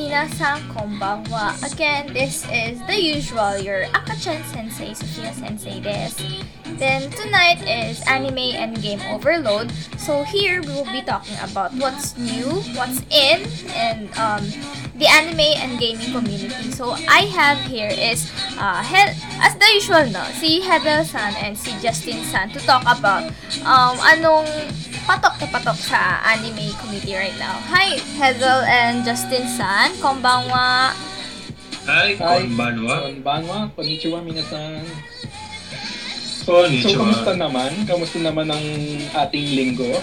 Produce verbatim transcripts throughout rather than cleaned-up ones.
Minasan konbanwa. Again, this is the usual, your Akachan Sensei, Sophia Sensei desu. Then tonight is anime and game overload. So here we will be talking about what's new, what's in, and um, the anime and gaming community. So I have here is uh, He- as the usual, no, si Hebel-san and si Justin-san to talk about um, anong patok na patok sa anime community right now. Hi, Hebel and Justin-san. Konbanwa. Hi, konbanwa. Konbanwa, konnichiwa minasan. Konnichiwa. So, kamusta naman? Kamusta naman ang ating linggo?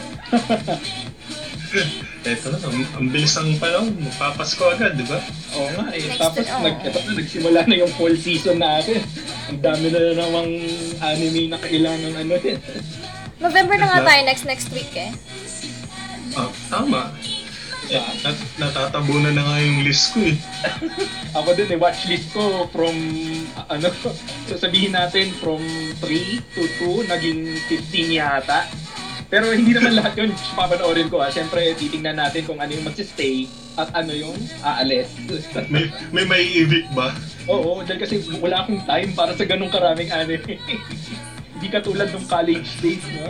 Eto na, ang, ang bilis ang panahon. Magpapasko agad, di ba? Oo nga eh. Next Tapos, to- oh. nag, eto na, nagsimula na yung fall season natin. Ang dami na namang anime na kailangan ano din. November na nga tayo next next week eh. Ah, tama. Eh, nat natatabunan na nga yung list ko eh. Ako din eh, watchlist ko from, uh, ano, sasabihin natin from three to two, naging fifteen yata. Pero hindi naman lahat yun papanoorin ko ah. Siyempre, titingnan natin kung ano yung magsistay at ano yung aalis. May, may may evict ba? Oo, dahil kasi wala akong time para sa ganung karaming anime. Hindi katulad ng college days, no?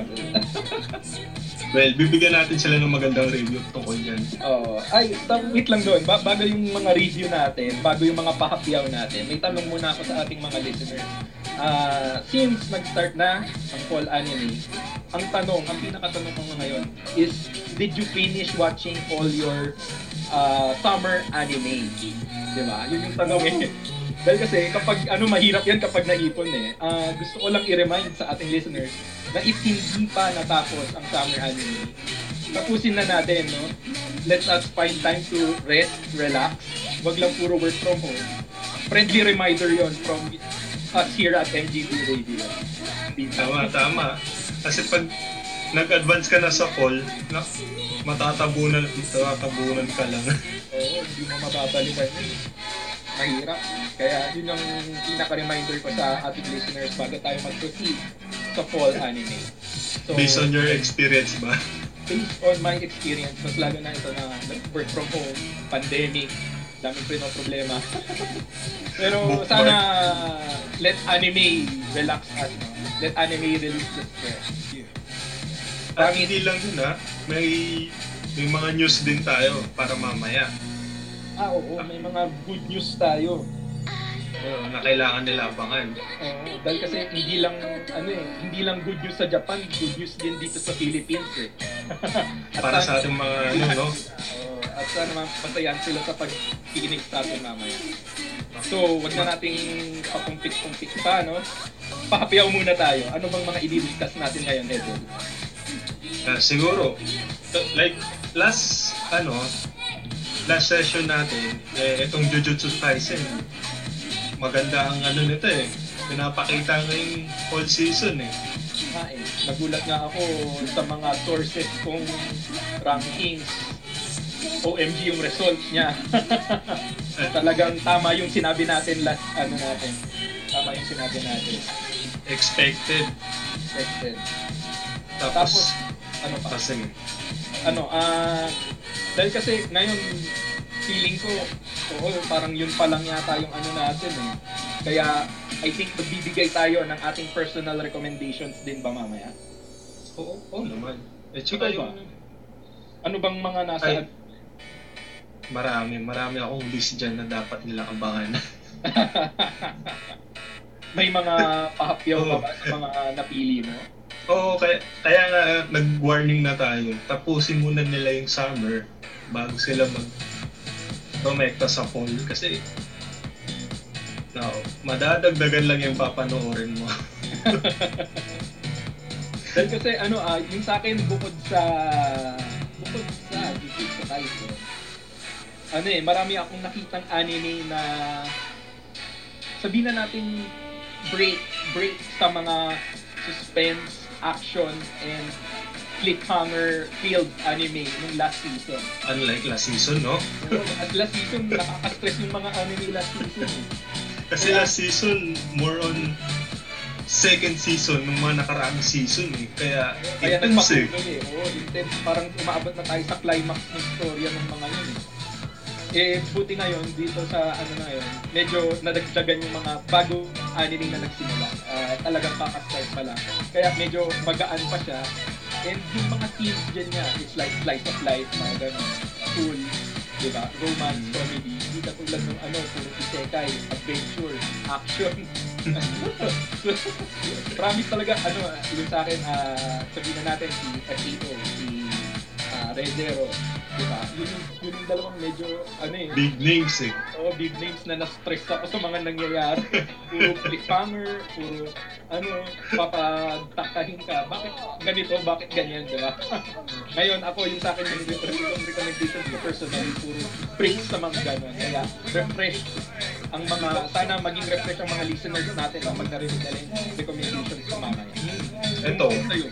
Well, bibigyan natin sila ng magandang review tungkol dyan. Oh, ay, ta- wait lang doon. Ba- bago yung mga review natin, bago yung mga pahapyaw natin, may tanong muna ako sa ating mga listeners. Ah, since nag-start na ang fall anime, ang tanong, ang pinakatanong ko ngayon is, did you finish watching all your uh, summer anime? Diba? Yun yung tanong eh. Dahil kasi kapag ano mahirap yan kapag naipon eh. Ah, gusto ko lang i-remind sa ating listeners na if hindi pa natapos ang summer anime, tapusin na natin, no? Let us find time to rest, relax. Wag lang puro work from home. Friendly reminder yon from us here at M G B Radio. Tama, tama. Kasi pag nag-advance ka na sa fall, na, matatabunan, matatabunan ka lang. Oo, hindi mo mababalikan yun. Mahirap. Kaya yun yung pinaka-reminder ko sa ating listeners bago tayo mag-proceed sa fall anime. So, Based on your experience ba? based on my experience, mas lalo na ito na work from home, pandemic, daming pa problema. Pero Bookmark. sana let anime relax us, no? Let anime release the stress. At hindi lang yun ha, may, may mga news din tayo para mamaya. Ah, oo, may mga good news tayo. Uh, na kailangan nila abangan. Oo, dahil kasi hindi lang ano eh, hindi lang good news sa Japan, good news din dito sa Philippines eh. At Para sana- sa ating mga ano, no? Oo, at sana mapasayan sila sa pag-kikinig sa atin mamaya. So, wag na nating papumpik-pumpik pa, no? Pahapyaw muna tayo. Ano bang mga i-discuss natin ngayon, Edwin? Uh, siguro, t- like last, ano, last session natin, eh, itong Jujutsu Kaisen, maganda ang ano nito eh. Pinapakita ngayong fall season eh. Ah, eh, nagulat nga ako sa mga sources kong rankings. O M G yung results niya. Talagang tama yung sinabi natin last ano natin. Tama yung sinabi natin. Expected. Expected. Tapos, Tapos ano pa? kasi, Ano, ah dahil kasi ngayon feeling ko oo, parang yun pa lang yata yung ano natin eh. Kaya I think magbibigay tayo ng ating personal recommendations din ba mamaya? oo, oo naman. Eh, Ikaw tsaka ba? yung, Ano bang mga nasa Ay. marami, marami akong list dyan na dapat nilang abangan. may mga pahapyaw Oo. pa ba sa mga napili mo? Oo, kaya, kaya nga nag-warning na tayo. Tapusin muna nila yung summer bago sila mag promekta sa fall. Kasi no, madadagdagan lang yung papanoorin mo. Dahil kasi ano ah, yung sa akin bukod sa bukod sa Jujutsu Kaisen, ano eh, marami akong nakitang anime na sabihin na natin break break sa mga suspense, action, and cliffhanger filled anime nung last season. Unlike last season, no? So, at last season, nakaka-stress yung mga anime last season. eh. Kasi last season, more on second season ng mga nakaraang season eh. Kaya, Kaya intense eh. nagpatuloy eh. Oo, intense. Parang umaabot na tayo sa climax ng storya ng mga yun eh. Eh, buti ngayon, dito sa ano na ngayon, medyo nadagdagan yung mga bago anime na nagsimula. Uh, talagang kakastart pa lang. Kaya medyo magaan pa siya. And yung mga themes dyan niya, it's like slice of life, mga ganun. Cool, di ba? Romance, comedy. Hindi katulad ng ano, puro isekai, adventure, action. Promise talaga, ano, yung sa akin, uh, sabihin na natin si F A O, si uh, Re:Zero, diba? Yun yung, yun yung dalawang medyo, ano eh. Big names eh. Oo, big names na na-stress ako sa mga nangyayari. Puro cliffhanger, puro, ano, papagtakahin ka. Bakit ganito, bakit ganyan, diba? Ngayon, ako, yung sa akin, yung recommendations ko personally, puro praise sa mga gano'n. Kaya, refresh ang mga, sana maging refresh ang mga listeners natin kapag narinig nila yung recommendations ko mamaya. Ito,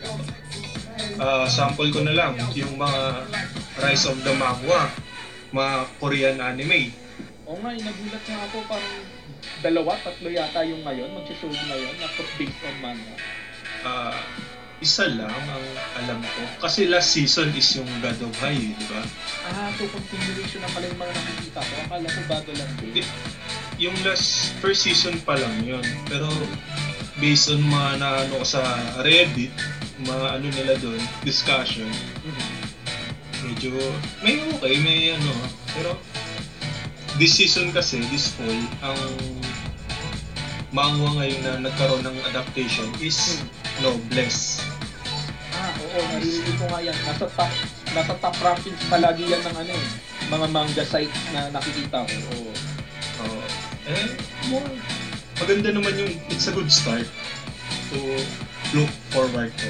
uh, sample ko na lang, yung mga Rise of the Manhwa, mga Korean anime. Oo nga, nagulat nga ako, parang dalawa, tatlo yata yung ngayon, mag-show ngayon, na based on manga. Uh, isa lang ang alam ko. Kasi last season is yung God of High, di ba? Ah, so continuation na pala yung mga nakikita ko. Akala ko bago lang din. Yung last, first season pa lang yun. Pero based on mga na ano sa Reddit, mga ano nila doon, discussion, mm-hmm. medyo may okay, may ano, pero this season kasi, this fall, ang manhwa ngayon na nagkaroon ng adaptation is hmm. Noblesse. Ah, oo, naririnig ko nga yan. Nasa top, nasa top rankings palagi yan ng ano eh, mga manga sites na nakikita ko. Oo. Oh. Eh, more, maganda naman yung, it's a good start to look forward to.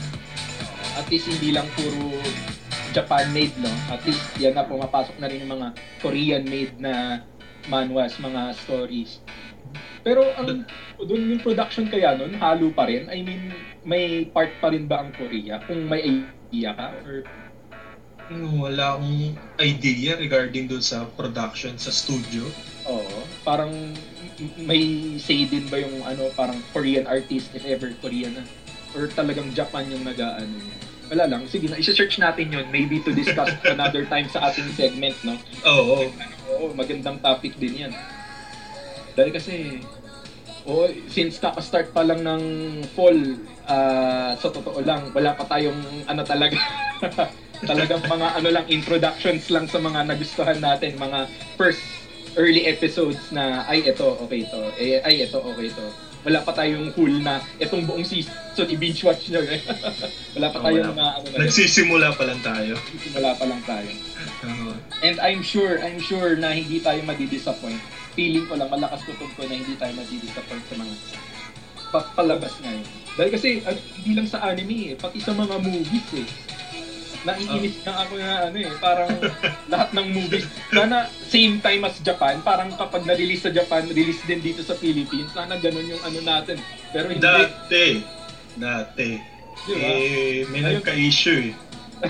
At least hindi lang puro Japan-made, no? At least yan na, pumapasok na rin yung mga Korean-made na manhwas, mga stories. Pero ang doon yung production kaya nun, halo pa rin? I mean, may part pa rin ba ang Korea? Kung may idea ka? Or wala akong idea regarding doon sa production sa studio. Oo. Parang may say din ba yung ano, parang Korean artist, if ever Korean na? Or talagang Japan yung nag-aano niya? Wala lang. Sige na, isa-search natin yun. Maybe to discuss another time sa ating segment, no? Oo. Oo, magandang topic din yan. Dahil kasi, oh, since kaka-start pa lang ng fall, uh, sa totoo lang, wala pa tayong ano talaga. Talagang mga ano lang, introductions lang sa mga nagustuhan natin. Mga first early episodes na, ay, ito, okay to. Eh, ay, ito, okay to. Wala pa tayong full na itong buong season i-binge watch nyo. Eh. Wala pa tayong mga ano na. Nagsisimula pa lang tayo. Nagsisimula pa lang tayo. Uh-huh. And I'm sure, I'm sure na hindi tayo madi-disappoint. Feeling ko lang, malakas kutub ko na hindi tayo madi-disappoint sa mga pa- palabas ngayon. Dahil kasi, uh, hindi lang sa anime eh, pati sa mga movies eh. Naiinis uh. na ako na ano eh, parang lahat ng movies. Sana same time as Japan, parang kapag na-release sa Japan, release din dito sa Philippines. Sana ganun yung ano natin. Pero hindi. Dati, dati. Diba? Eh, may Ayun. nagka-issue eh.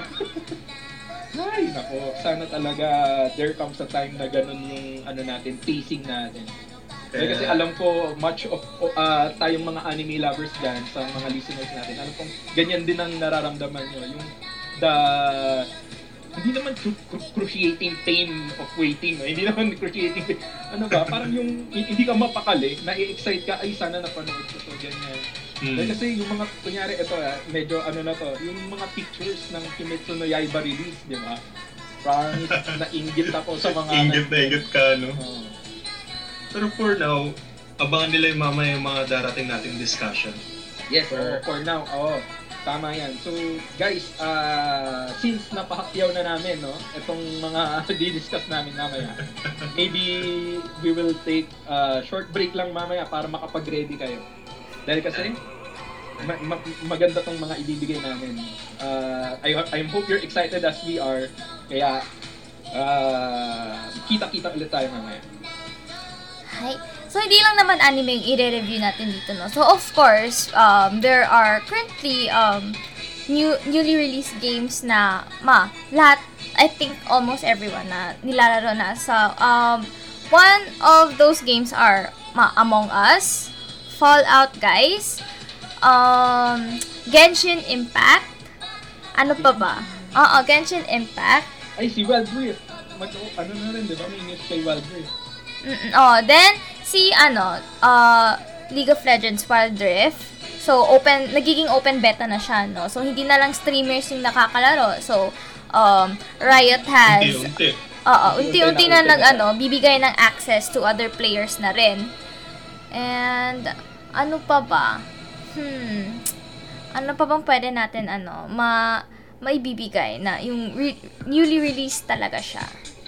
Ay, nako, sana talaga there comes a time na ganun yung ano natin, pacing natin. Kaya, kasi alam ko, much of uh, tayong mga anime lovers dyan, sa mga listeners natin, alam kong ganyan din ang nararamdaman nyo. Yung the, hindi naman cruciating pain of waiting, no? Hindi naman cruciating pain. Ano ba, parang yung hindi ka mapakali, na-excite ka, ay sana napanood ko to, ganyan. Hmm. Dahil kasi yung mga, kunyari ito, ah, medyo ano na to, yung mga pictures ng Kimetsu no Yaiba release, di ba? Parang nainggit ako sa mga... Inggit na inggit ka, no? Oh. Pero for now, abangan nila yung mamaya yung mga darating nating discussion. Yes, for, for now, oo. Tama yan. So, guys, uh, since napahakyaw na namin, no, itong mga di-discuss namin mamaya, maybe we will take a uh, short break lang mamaya para makapag-ready kayo. Dahil kasi, ma- ma- maganda tong mga ibibigay namin. Uh, I, I hope you're excited as we are. Kaya, uh, kita-kita ulit tayo mamaya. Hi. So, hindi lang naman anime yung i-review natin dito, no? So, of course, um, there are currently um, new newly released games na, ma, lahat, I think almost everyone na nilalaro na. So, um, one of those games are, ma, Among Us, Fallout Guys, um, Genshin Impact, ano pa ba? Oo, Genshin Impact. Ay, si Wild Rift. mag, ano na rin, di ba? May news kay Wild Rift. Mm-mm. Oh, then, si, ano, uh, League of Legends Wild Rift. So, open, nagiging open beta na siya, no? So, hindi na lang streamers yung nakakalaro. So, um, Riot has... Unti-unti. Oo, unti-unti na, Unti-unti nag, na. ano, bibigay ng access to other players na rin. And, ano pa ba? Hmm, ano pa bang pwede natin, ano, ma, maibibigay na yung re- newly released talaga siya?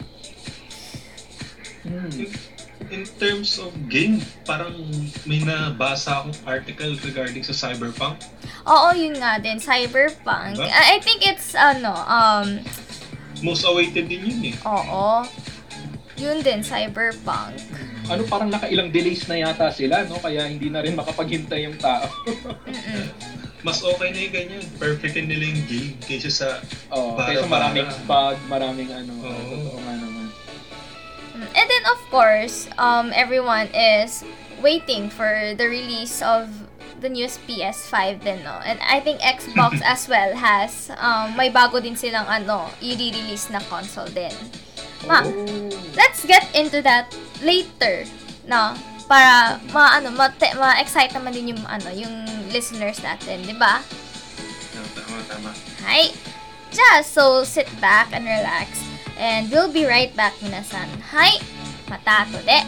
Hmm. In terms of game, parang may nabasa akong article regarding sa Cyberpunk. Oo, yun nga din, Cyberpunk. Diba? I I think it's, ano, um, Most awaited din yun eh. oo, yun din, Cyberpunk. Ano, parang nakailang delays na yata sila, no? Kaya hindi na rin makapaghintay yung tao. Mm-mm. Mas okay na yung ganyan. Perfectin nila yung game kaysa sa... Oh, Para- kaysa maraming para. bug, maraming ano, Oo. totoo nga naman. And then, of course, um, everyone is waiting for the release of the newest P S five din, no? And I think Xbox as well has, um, may bago din silang, ano, i-release na console din. Ma, Oh. let's get into that later, no? Para, ma, ano, ma, te, ma-excite naman din yung, ano, yung listeners natin, di ba? Tama, tama. Hi! Just so sit back and relax. And we'll be right back, minasan. Hi! Mata to de!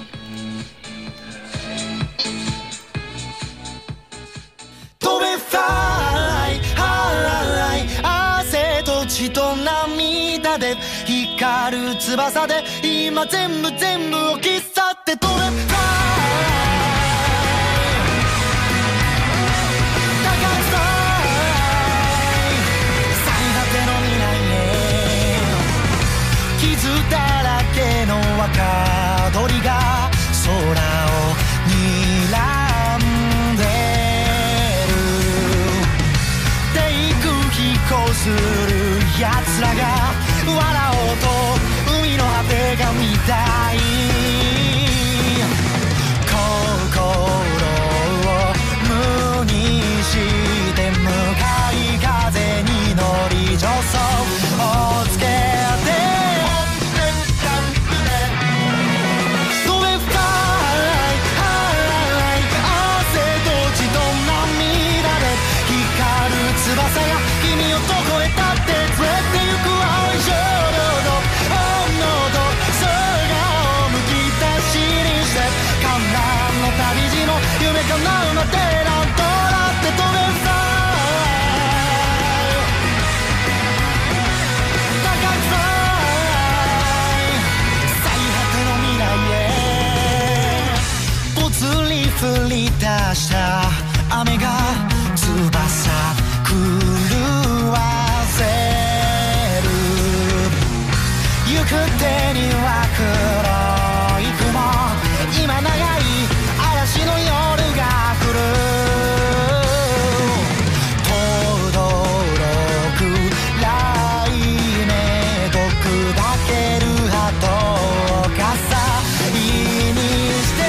飛べフライハイ汗と血と涙で光る翼で今全部全部を消さって飛べフライ高さ最果ての未来へ傷だらけの若鳥が空を睨んでこうする奴らが笑おうと海の果てが見たい心を無にして向かい風に乗り助走をつけて飛べフライ汗と血と涙で光る翼が君をどこへだって連れて行く青い衝動本能と空をむき出しにして観覧の旅路の夢叶うまでなんとなって飛べフライ高くフライ最果ての未来へぽつり降り出した雨が翼狂わせる行く手には黒い雲今長い嵐の夜が来る轟く雷鳴と砕ける鳩を傘にして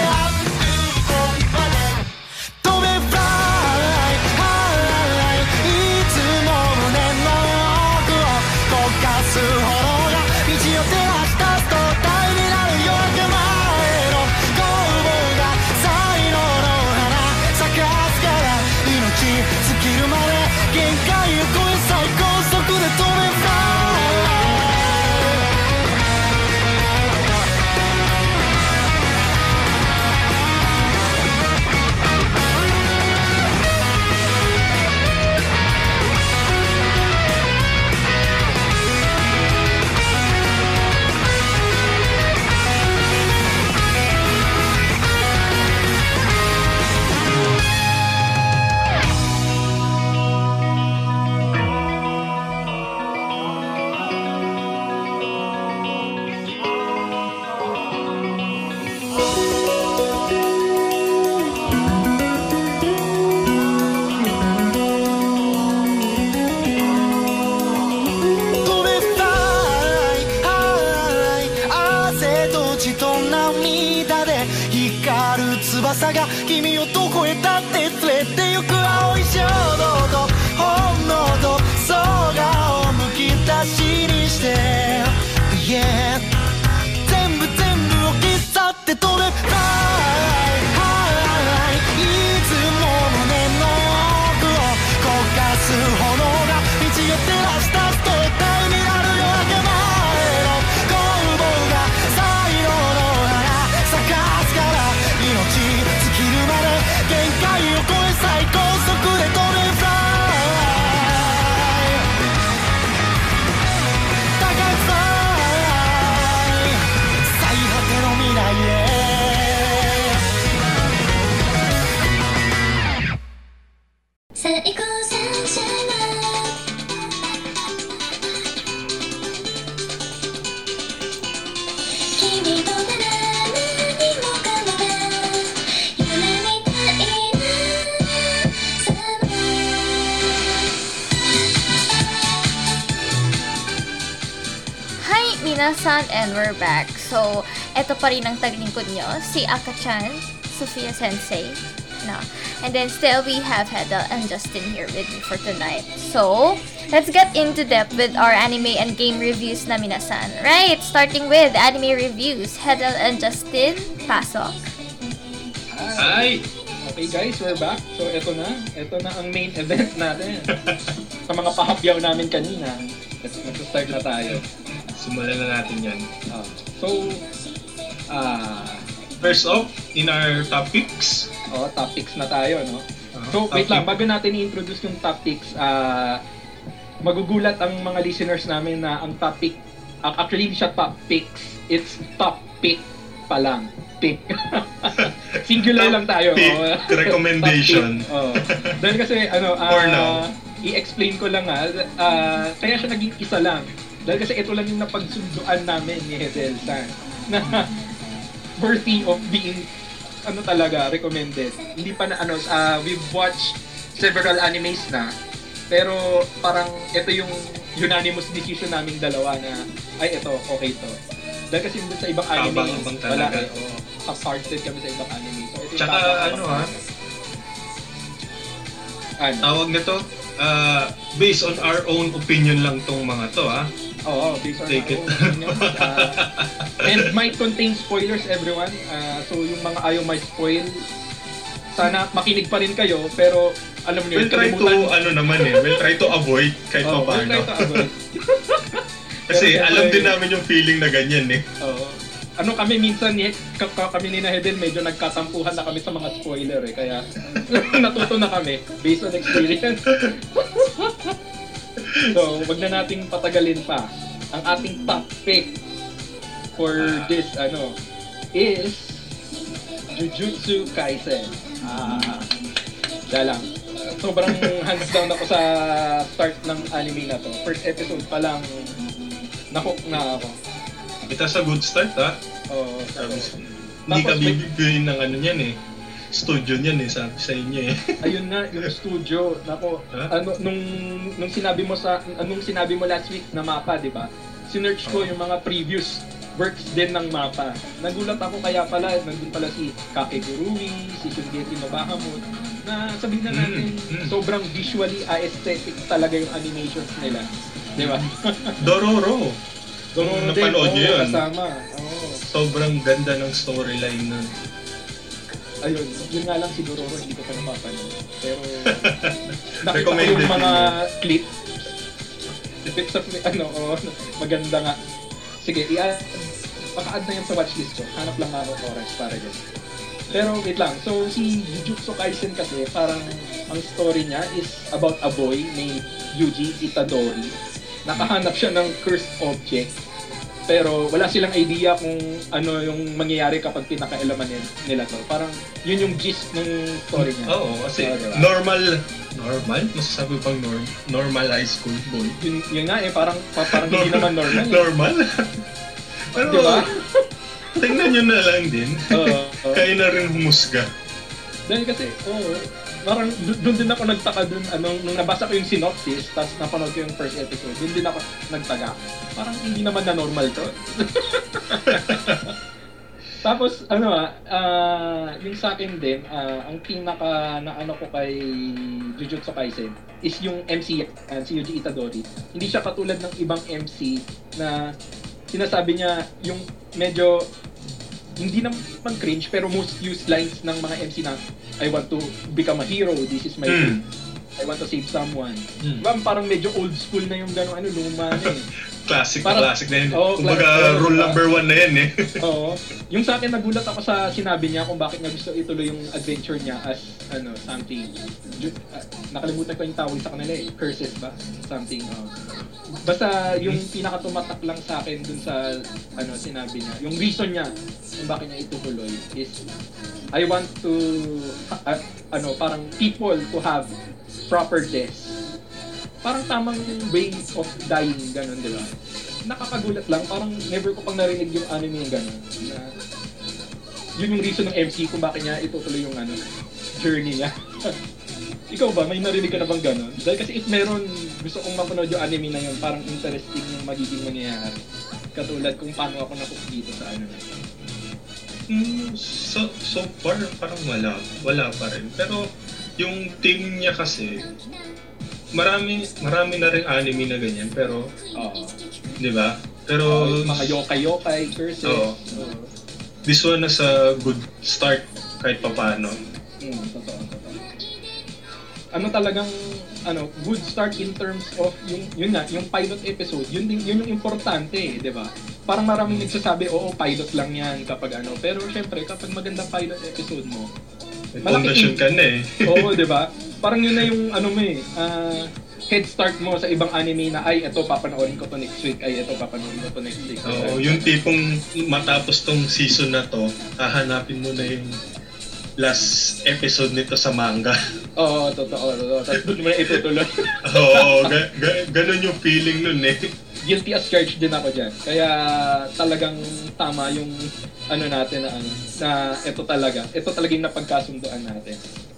飛べフライいつも胸の奥を焦がす炎が道を照らし出すと大になる夜明け前の攻防が才能の花咲かすから命尽きるまで限界を超え最高速で飛べフライ飛べフライ汗と血と涙で光る翼が君をどこへだって連れて行く青い衝動と本能と空をむき出しにして、yeah minasan, and we're back. So, eto pa rin ang taglingkod nyo, si Aka-chan, Sophia Sensei. No. And then still we have Hedel and Justin here with me for tonight. So, let's get into depth with our anime and game reviews na minasan. Right, starting with anime reviews. Hedel and Justin, pasok. Hi! Okay guys, we're back. So eto na, eto na ang main event natin. Sa mga pahapyaw namin kanina, nag-start na tayo. Simulan na natin yan. Uh, so, ah... Uh, First off, in our topics. Oh, topics na tayo, no? Uh, so, wait lang, bago natin i-introduce yung topics, ah... Uh, magugulat ang mga listeners namin na ang topic, uh, actually hindi siya top picks, it's top pick pa lang. Pick. Singular lang tayo. Pick, oh. recommendation. Oh. Dahil kasi, ano, uh, For now. i-explain ko lang nga, uh, kaya siya naging isa lang. Dahil kasi ito lang yung napagsunduan namin ni Hedel San na worthy of being, ano talaga, recommended. Hindi pa na, ano, uh, we've watched several animes na, pero parang ito yung unanimous decision naming dalawa na, ay, ito, okay to. Dahil kasi sa ibang anime, Abang-abang wala talaga. eh. Oh, half-hearted kami sa ibang anime. So, ito yung Tsaka tapos- ano ha, Ano? tawag nito, uh, based on our own opinion lang tong mga to ha. Oo, based on Take our it. own opinion. Uh, and might contain spoilers, everyone. Uh, so, yung mga ayaw may spoil, sana makinig pa rin kayo, pero alam niyo, We'll try to, ano naman eh, we'll try to avoid kahit Oh, pa we'll try paano. to avoid. Kasi Pero alam syempre- din namin yung feeling na ganyan eh. Oo. Ano kami minsan eh, k- k- kami ni na Hedel, medyo nagkatampuhan na kami sa mga spoiler eh, kaya natuto na kami based on experience. So, wag na nating patagalin pa. Ang ating top pick for this ano is Jujutsu Kaisen. Ah, dala lang. Sobrang hands down ako sa start ng anime na to. First episode pa lang nahook na ako. It has a good start ha. Oo. Sabi, hindi ka Tapos may- bibigyan ng ano niyan eh. Studio niyan eh, sabi sa inyo eh. Ayun na, yung studio. Nako, Huh? ano, nung, nung sinabi mo sa, anong sinabi mo last week na mapa, di ba? Sinearch ko Oh. yung mga previous works din ng mapa. Nagulat ako kaya pala, nandun pala si Kakegurui, si Shungeki no Bahamut, na sabihin na natin, Mm, mm. sobrang visually aesthetic talaga yung animations nila. Di ba? Dororo. Kung Dororo din, napanood niyo oo, yun, kasama. Oo. sobrang ganda ng storyline nun. Ayun, yun nga lang si Dororo, hindi ko pa napapanood. Pero, nakita ko Recommended yung mga yun. clips. Clips of, ano, oh, maganda nga. Sige, i-add, maka-add na yan sa watchlist ko. Hanap lang ako ng oras para dyan. Pero wait lang, so si Jujutsu Kaisen kasi, parang ang story niya is about a boy named Yuji Itadori. Nakahanap siya ng cursed object. Pero wala silang idea kung ano yung mangyayari kapag pinaka-eleman nila to. Parang yun yung gist ng story niya. Oo, kasi Oo, diba? normal, normal? Masasabi pang norm, normal high school boy. Yun, yun nga eh, parang, pa- parang hindi naman normal. eh. Normal? Pero, Diba? tingnan nyo na lang din. Oo. oo. Kayo na rin humusga. Dahil kasi, oo, parang do- doon din ako nagtaka dun, ano, nung nabasa ko yung synopsis, tapos napanood ko yung first episode, doon din ako nagtaga. Parang hindi naman na normal to. Tapos, ano ah, ah, yung sa akin din, ah, ang pinaka na ano ko kay Jujutsu Kaisen is yung M C, uh, si Yuji Itadori. Hindi siya katulad ng ibang M C na sinasabi niya yung medyo hindi naman cringe pero most used lines ng mga M C na I want to become a hero, this is my Hmm. dream. I want to save someone. Hmm. Diba, parang medyo old school na yung gano'ng ano, luma na eh. Classic Parang- na classic na yun. Oo, Kumbaga, classic. rule number one na yan eh. Oo. Yung sa akin, nagulat ako sa sinabi niya kung bakit nga gusto ituloy yung adventure niya as, ano, something. Ju- ah, nakalimutan ko yung tawag sa kanila eh. Curses ba? Something. Oh. Basta yung pinakatumatak lang sa akin dun sa, ano, sinabi niya. Yung reason niya kung bakit niya itutuloy is, I want to, ah, ano, parang people to have proper death. Parang tamang way of dying, gano'n, di ba? Nakakagulat lang, parang never ko pang narinig yung anime yung gano'n. Na, yun yung reason ng M C kung bakit niya itutuloy yung ano, journey niya. Ikaw ba, may narinig ka na bang gano'n? Dahil kasi if meron, gusto kong mapanood yung anime na yun, parang interesting yung magiging mangyayari. Katulad kung paano ako nahook dito sa ano na ito. Mm, so, so far, parang wala. Wala pa rin. Pero, yung team niya kasi, marami marami na rin anime na ganyan. Pero, Oo. di ba? Pero, Oh, yung mga yokai-yokai, curses. Oo. Oo. this one is a good start kahit papaano. Mm, totoo, totoo. Ano talagang, ano, good start in terms of yung, yun nga, yung pilot episode, yun, din, yun yung importante eh, di ba? Parang maraming nagsasabi, oo, pilot lang yan kapag ano. Pero syempre, kapag maganda pilot episode mo, May malaki fondasyon in- ka na eh. oo, di ba? Parang yun na yung, ano mo eh, ah, head start mo sa ibang anime na, ay, eto, papanoorin ko to next week, ay, eto, papanoorin ko to next week. Oo, yung tipong matapos tong season na to, hahanapin mo na yung last episode nito sa manga. Oo, totoo, totoo. Tapos doon mo na itutuloy. Oo, ga- ga- ganun yung feeling nun eh. Guilty as charged din ako dyan. Kaya talagang tama yung ano natin na ano, na ito talaga. Ito talaga yung napagkasunduan natin.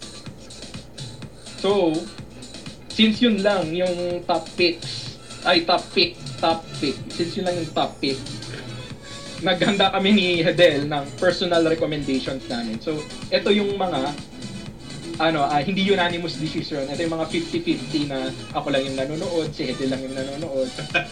So, since yun lang yung top picks, ay top pick, top pick, since yun lang yung top pick, naghanda kami ni Hedel ng personal recommendations namin. So, ito yung mga ano, ah, hindi unanimous decision. Ito yung mga fifty-fifty na ako lang yung nanonood, si Hedel lang yung nanonood.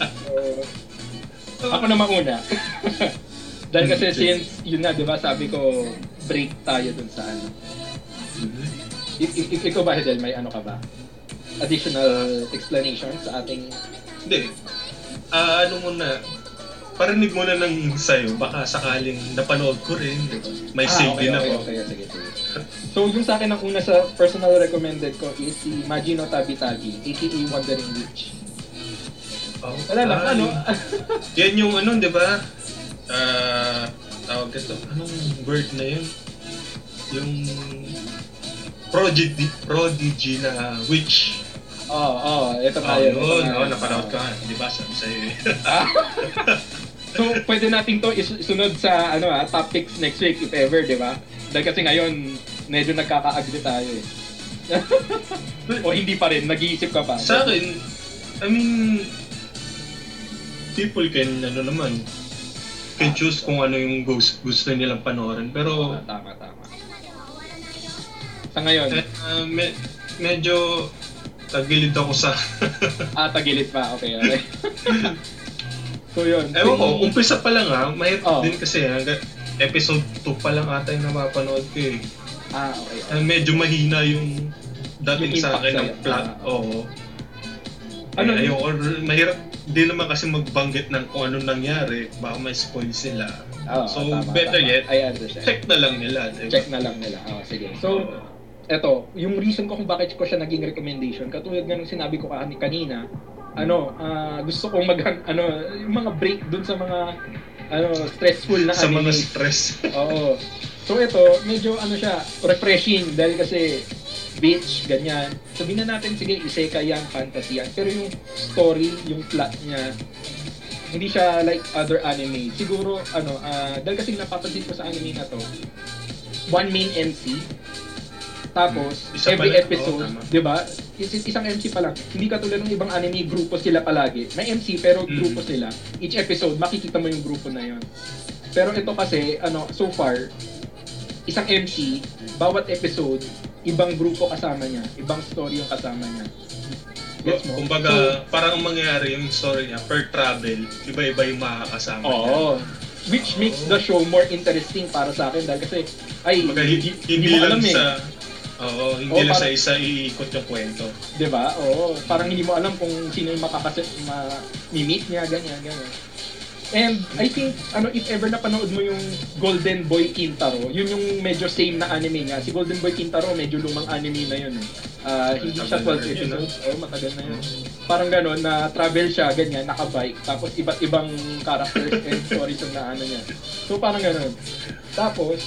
So, ako na mauna. Dahil kasi since, yun nga, di ba, sabi ko, break tayo dun sa ano. I- i- i- ikaw ba, Hedel, may ano ka ba? Additional explanation sa ating... Hindi. Ah, ano muna, parinig mo na ng sayo, baka sakaling napanood ko rin, di ba? May Ah, save okay, din okay, ako. okay, sige, sige. So, yung sa akin ang una sa personal recommended ko is si Majino Tabi-Tabi, aka Wandering Witch. Oh, Wala lang, ah, ano? yung- Yan yung ano, di ba? Ah, tawag ito, anong word na yun? Yung prodigy, prodigy na witch. Oo, oh, oh, ito Oh, tayo. yun, ito oh, tayo. napanood ka. Di ba? Sabi sa'yo eh. Ah. So, pwede natin to is- isunod sa ano ah, top picks next week if ever, di ba? Dahil kasi ngayon, medyo nagkaka-agree tayo eh. O hindi pa rin, nag-iisip ka pa. Sa akin, I mean, people can, ano naman, can choose kung ano yung gusto, gusto nilang panoorin. Pero, Ah, tama, tama. Sa ngayon, eh, ah, me- medyo tagilid ako sa... ah, tagilid pa. Okay, okay. So yun. Ewan ko, Kung- umpisa pa lang ha, mahirap Oh. din kasi hanggang episode two pa lang ata yung napapanood ko eh. Ah, okay. Ah, medyo mahina yung dating Yung sa impact akin ng sa'yo. plot. Ah, Oo. Ano Ano, yung- or mahirap din naman kasi magbanggit ng kung anong nangyari, baka may spoil sila. Oo, So, tama, better tama. yet, I understand. check na lang nila. Diba? Check na lang nila. Ah, sige. So, eto, yung reason ko kung bakit ko siya naging recommendation, katulad nga ng sinabi ko kan- kanina, ano, ah, gusto kong mag, ano, yung mga break dun sa mga, ano, stressful na Sa mga anime. stress. Oo. So ito, medyo ano siya, refreshing dahil kasi beach, ganyan. Sabihin na natin, sige, isekai yan, fantasy yan. Pero yung story, yung plot niya, hindi siya like other anime. Siguro, ano, ah, dahil kasi napapansin ko sa anime na to, one main M C, tapos Isa every pala, episode, oo, tama. 'di ba? Is- isang M C pa lang. Hindi katulad ng ibang anime, grupo sila palagi. May M C pero Mm. grupo sila. Each episode makikita mo yung grupo na 'yon. Pero ito kasi, ano, so far, isang M C, bawat episode, ibang grupo kasama niya, ibang story yung kasama niya. Gets mo? Kumbaga, So, parang ang mangyayari yung story niya, per travel, iba-iba yung makakasama niya. oo. Which makes the show more interesting para sa akin dahil kasi, ay, Kumbaga, hindi, hindi mo lang alam eh. sa... Oo, hindi Oo, lang sa parang- isa iikot yung kwento. 'Di ba? Oo, parang hindi mo alam kung sino yung makakasit ma-meet niya, ganyan, ganyan. And I think, ano, if ever napanood mo yung Golden Boy Kintaro, yun yung medyo same na anime niya. Si Golden Boy Kintaro, medyo lumang anime na yun eh. Ah, hindi siya twelve Matagal na rin yun, episodes. Oo, matagal na yun. Parang gano'n, na travel siya, ganyan, nakabike. Tapos iba't ibang characters and stories ang naano niya. So parang gano'n. Tapos,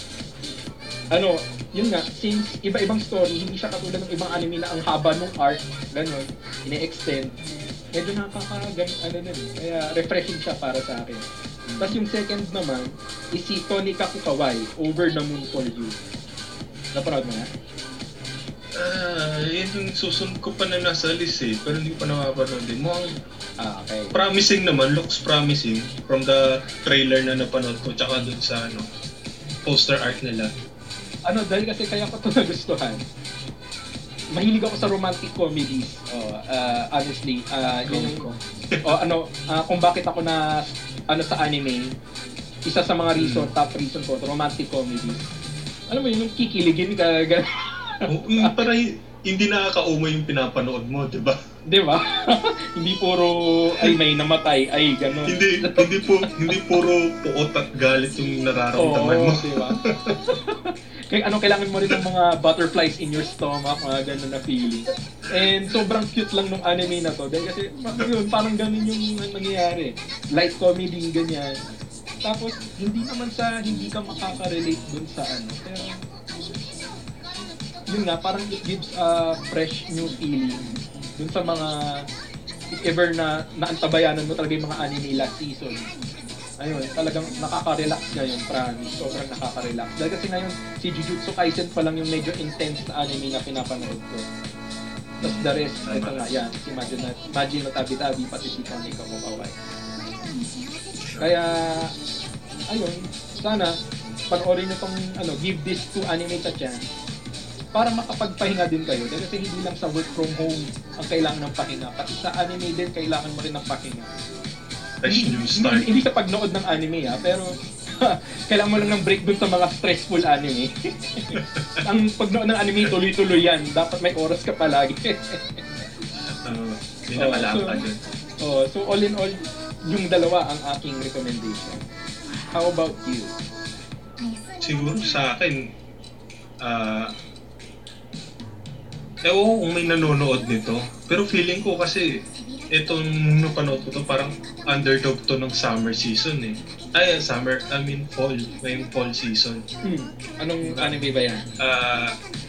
ano, yun nga, since iba-ibang story, hindi siya katulad ng ibang anime na ang haba ng arc, gano'n, ine-extend, medyo nakakagan, ano nun, eh. Kaya refreshing siya para sa akin. Tapos yung second naman, is si Tony Kakukawai, Over the Moon for You. Napanood mo na? Ah, yun yung susunod ko pa na nasa list eh, pero hindi ko pa napapanood din. Mukhang Ah, okay. Promising naman, looks promising from the trailer na napanood ko tsaka dun sa ano, poster art nila. Ano, dahil kasi kaya ko ito nagustuhan. Mahilig ako sa romantic comedies. Oh, uh, honestly, uh, yun yung, oh, ano, uh, kung bakit ako na ano sa anime, isa sa mga reason, top reason ko, romantic comedies. Alam mo yun, yung kikiligin ka, gano'n. Oh, mm, para hindi nakakauma yung pinapanood mo, di ba? Di ba? Hindi puro ay may namatay, ay gano'n. hindi hindi po hindi puro puot at galit yung nararamdaman Oo, mo. di ba? Kaya ano, kailangan mo rin ng mga butterflies in your stomach, mga gano'n na feeling. And sobrang cute lang nung anime na to. Dahil kasi yun, parang gano'n yung nangyayari. Light comedy, ganyan. Tapos, hindi naman sa hindi ka makaka-relate dun sa ano. Pero, yun nga, parang it gives a fresh new feeling dun sa mga if ever na naantabayanan mo talaga yung mga anime last season. Ayun, talagang nakaka-relax ngayon, promise. Sobrang nakaka-relax. Dahil kasi ngayon, si Jujutsu Kaisen pa lang yung medyo intense na anime na pinapanood ko. Tapos the rest, ito nga, yan, si Majin na, Majin no Tabi-Tabi, pati si Kamiko Kawai. Kaya, ayun, sana, panoorin nyo tong, ano, give this to anime a chance para makapagpahinga din kayo. Dahil kasi hindi lang sa work from home ang kailangan ng pahinga. Pati sa anime din, kailangan mo rin ng pahinga. Fresh new start. Hindi, hindi sa pagnood ng anime ha, pero kailangan mo lang ng break dun sa mga stressful anime. Ang pagnood ng anime, tuloy-tuloy yan. Dapat may oras ka palagi. Uh, Pinakala oh, so, ka dyan. Oh, so all in all, yung dalawa ang aking recommendation. How about you? Siguro sa akin, ah, uh, ewan ko kung may nanonood nito, pero feeling ko kasi itong napanood ko to parang underdog to ng summer season eh. Ay, summer, I mean fall, ngayong fall season. Hmm. Anong anime ba yan? Ah, uh,